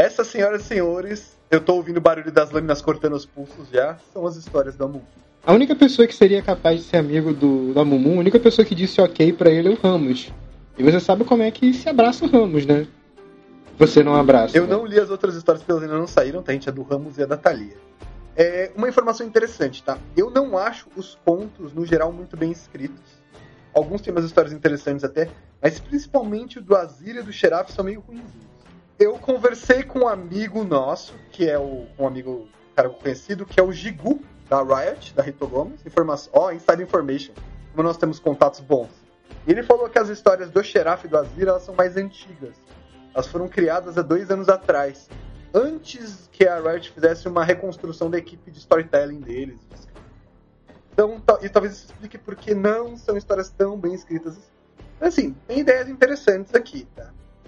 Essas, senhoras e senhores, eu tô ouvindo o barulho das lâminas cortando os pulsos já, são as histórias da Mumu. A única pessoa que seria capaz de ser amigo da Mumu, a única pessoa que disse ok pra ele é o Ramos. E você sabe como é que se abraça o Ramos, né? Você não abraça. Eu não li as outras histórias porque elas ainda não saíram, tá? A gente é do Ramos e a da Thalia. Uma informação interessante, tá? Eu não acho os contos, no geral, muito bem escritos. Alguns têm umas histórias interessantes até, mas principalmente o do Azir e do Xerath são meio ruinzinhos. Eu conversei com um amigo nosso, que é um amigo, cara conhecido, que é o Gigu, da Riot, da Rito Gomes. Inside Information. Como nós temos contatos bons. E ele falou que as histórias do Xerath e do Azir, elas são mais antigas. Elas foram criadas há 2 anos atrás. Antes que a Riot fizesse uma reconstrução da equipe de storytelling deles. Então, e talvez isso explique por que não são histórias tão bem escritas. Mas, assim, tem ideias interessantes aqui, tá?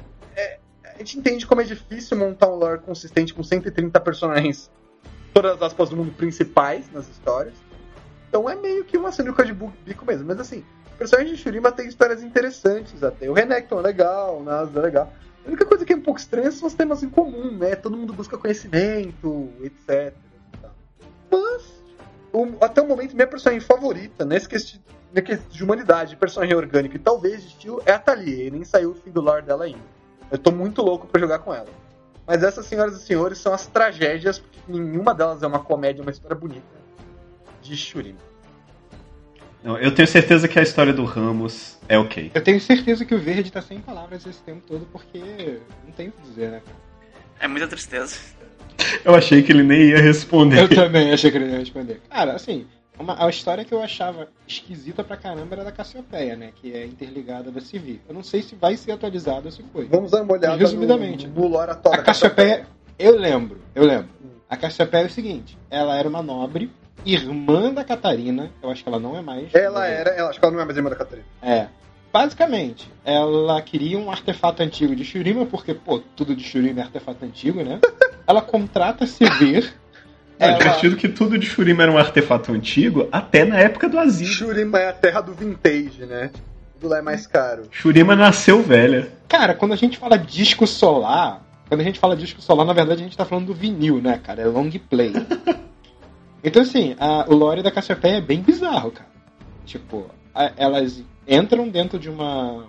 A gente entende como é difícil montar um lore consistente com 130 personagens, todas as aspas do mundo principais nas histórias. Então é meio que uma sinuca de bico mesmo. Mas, assim, o personagem de Shurima tem histórias interessantes até. O Renekton é legal, o Nasus é legal. A única coisa que é um pouco estranha são os temas em comum, né? Todo mundo busca conhecimento, etc. Mas, até o momento, minha personagem favorita, nesse quesito de humanidade, personagem orgânico e talvez de estilo, é a Thalia. E nem saiu o fim do lore dela ainda. Eu tô muito louco pra jogar com ela. Mas essas, senhoras e senhores, são as tragédias, porque nenhuma delas é uma comédia, uma história bonita de Shurima. Não, eu tenho certeza que a história do Ramos é ok. Eu tenho certeza que o Verde tá sem palavras esse tempo todo, porque não tem o que dizer, né, cara? É muita tristeza. Eu achei que ele nem ia responder. Eu também achei que ele ia responder. Cara, assim, a história que eu achava esquisita pra caramba era da Cassiopeia, né? Que é interligada da Sivir. Eu não sei se vai ser atualizado ou se foi. Vamos dar uma olhada resumidamente. no lore atual da Cassiopeia. Eu lembro. A Cassiopeia é o seguinte: ela era uma nobre, irmã da Catarina. Eu acho que ela não é mais. Acho que ela não é mais irmã da Catarina. Basicamente, ela queria um artefato antigo de Shurima, porque, tudo de Shurima é artefato antigo, né? Ela contrata a Sivir. É divertido que tudo de Shurima era um artefato antigo, até na época do Azir. Shurima é a terra do vintage, né? Tudo lá é mais caro. Shurima nasceu velha. Cara, quando a gente fala disco solar, na verdade a gente tá falando do vinil, né, cara? É long play. Então, assim, o lore da Cassiopeia é bem bizarro, cara. Tipo, elas entram dentro de uma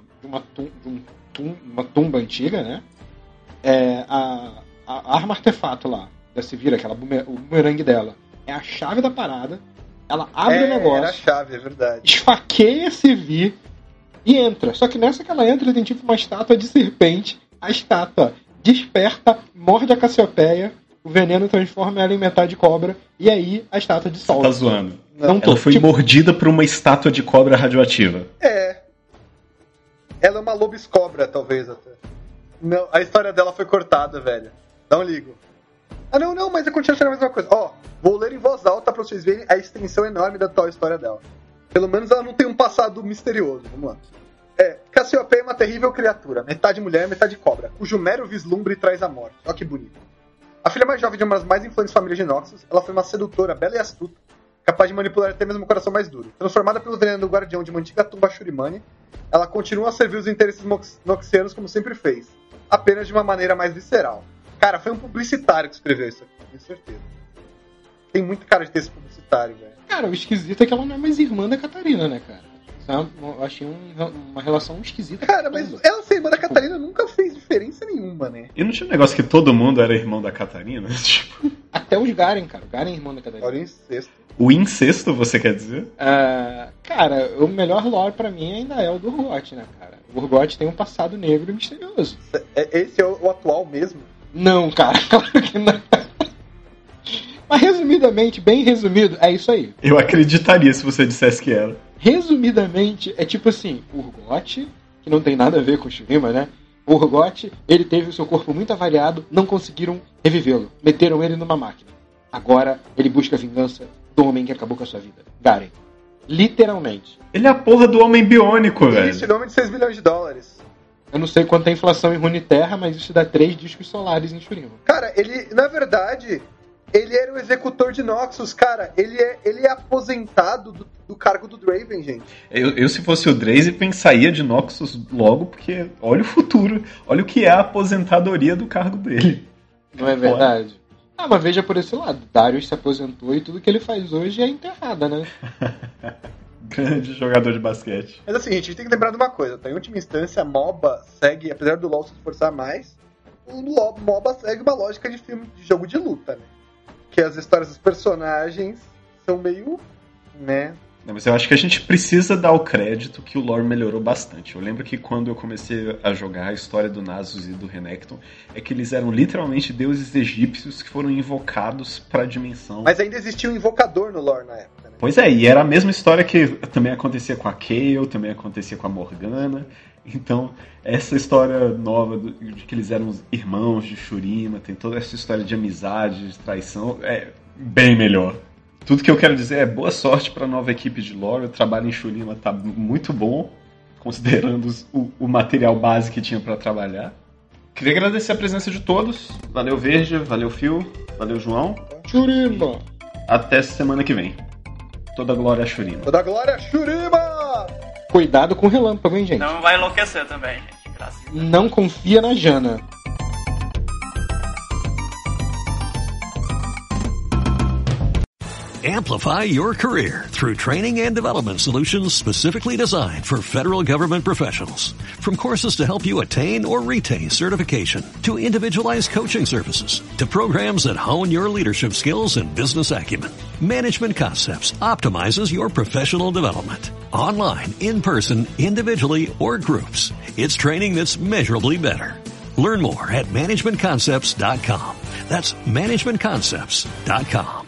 tumba antiga, né? A arma artefato lá da Sivir, o bumerangue dela, é a chave da parada. Ela abre o negócio. Era a chave, é verdade. Esfaqueia a Sivir e entra. Só que nessa que ela entra tem tipo uma estátua de serpente. A estátua desperta, morde a Cassiopeia, o veneno transforma ela em metade de cobra, e aí a estátua dissolve. Você tá zoando? Não, ela foi mordida por uma estátua de cobra radioativa. Ela é uma lobiscobra, talvez até. Não, a história dela foi cortada, velho. Não ligo. Não, mas eu continuo achando a mesma coisa. Vou ler em voz alta pra vocês verem a extensão enorme da tal história dela. Pelo menos ela não tem um passado misterioso. Vamos lá. Cassiopeia é uma terrível criatura, metade mulher, metade cobra, cujo mero vislumbre traz a morte. Olha que bonito. A filha mais jovem de uma das mais influentes famílias de Noxus, ela foi uma sedutora, bela e astuta, capaz de manipular até mesmo o coração mais duro. Transformada pelo veneno do guardião de uma antiga tumba Shurimane, ela continua a servir os interesses noxianos como sempre fez, apenas de uma maneira mais visceral. Cara, foi um publicitário que escreveu isso aqui, tenho certeza. Tem muito cara de ter esse publicitário, velho. Cara, o esquisito é que ela não é mais irmã da Catarina, né, cara? Eu achei uma relação esquisita. Cara, mas ela ser irmã da Catarina nunca fez diferença nenhuma, né? E não tinha um negócio que todo mundo era irmão da Catarina? Tipo... Até os Garen, cara. O Garen é irmão da Catarina. Olha o incesto. O incesto, você quer dizer? Cara, o melhor lore pra mim ainda é o do Urgot, né, cara? O Urgot tem um passado negro e misterioso. Esse é o atual mesmo? Não, cara. Claro que não. Mas resumidamente, bem resumido, é isso aí. Eu acreditaria se você dissesse que era. Resumidamente, é tipo assim, o Urgot, que não tem nada a ver com o Shurima, né? O Urgot, ele teve o seu corpo muito avariado, não conseguiram revivê-lo. Meteram ele numa máquina. Agora, ele busca a vingança do homem que acabou com a sua vida. Garen. Literalmente. Ele é a porra do homem biônico, velho. Isso, nome de 6 bilhões de dólares. Eu não sei quanto é a inflação em Runeterra, mas isso dá 3 discos solares em Shurima. Cara, ele, na verdade... Ele era o executor de Noxus, cara. Ele é aposentado do cargo do Draven, gente. Eu se fosse o Draven, saía de Noxus logo, porque olha o futuro. Olha o que é a aposentadoria do cargo dele. Não é verdade? Ah, mas veja por esse lado. Darius se aposentou e tudo que ele faz hoje é enterrada, né? Grande jogador de basquete. Mas assim, a gente tem que lembrar de uma coisa, tá? Em última instância, a MOBA segue, apesar do LoL se esforçar mais, o MOBA segue uma lógica de filme, de jogo de luta, né? Que as histórias dos personagens são meio, né? Não, mas eu acho que a gente precisa dar o crédito que o lore melhorou bastante. Eu lembro que quando eu comecei a jogar a história do Nasus e do Renekton, é que eles eram literalmente deuses egípcios que foram invocados pra dimensão. Mas ainda existia um invocador no lore na época, né? Pois é, e era a mesma história que também acontecia com a Kayle, também acontecia com a Morgana. Então, essa história nova de que eles eram irmãos de Shurima, tem toda essa história de amizade, de traição, é bem melhor. Tudo que eu quero dizer é boa sorte para a nova equipe de lore. O trabalho em Shurima tá muito bom, considerando o material base que tinha para trabalhar. Queria agradecer a presença de todos. Valeu, Verja, valeu, Phil, valeu, João. Shurima! Até semana que vem. Toda glória a Shurima. Toda glória a Shurima! Cuidado com o relâmpago, hein, gente? Não vai enlouquecer também, gente. Graças a Deus. Não confia na Jana. Amplify your career through training and development solutions specifically designed for federal government professionals. From courses to help you attain or retain certification, to individualized coaching services, to programs that hone your leadership skills and business acumen, Management Concepts optimizes your professional development. Online, in person, individually, or groups, it's training that's measurably better. Learn more at managementconcepts.com. That's managementconcepts.com.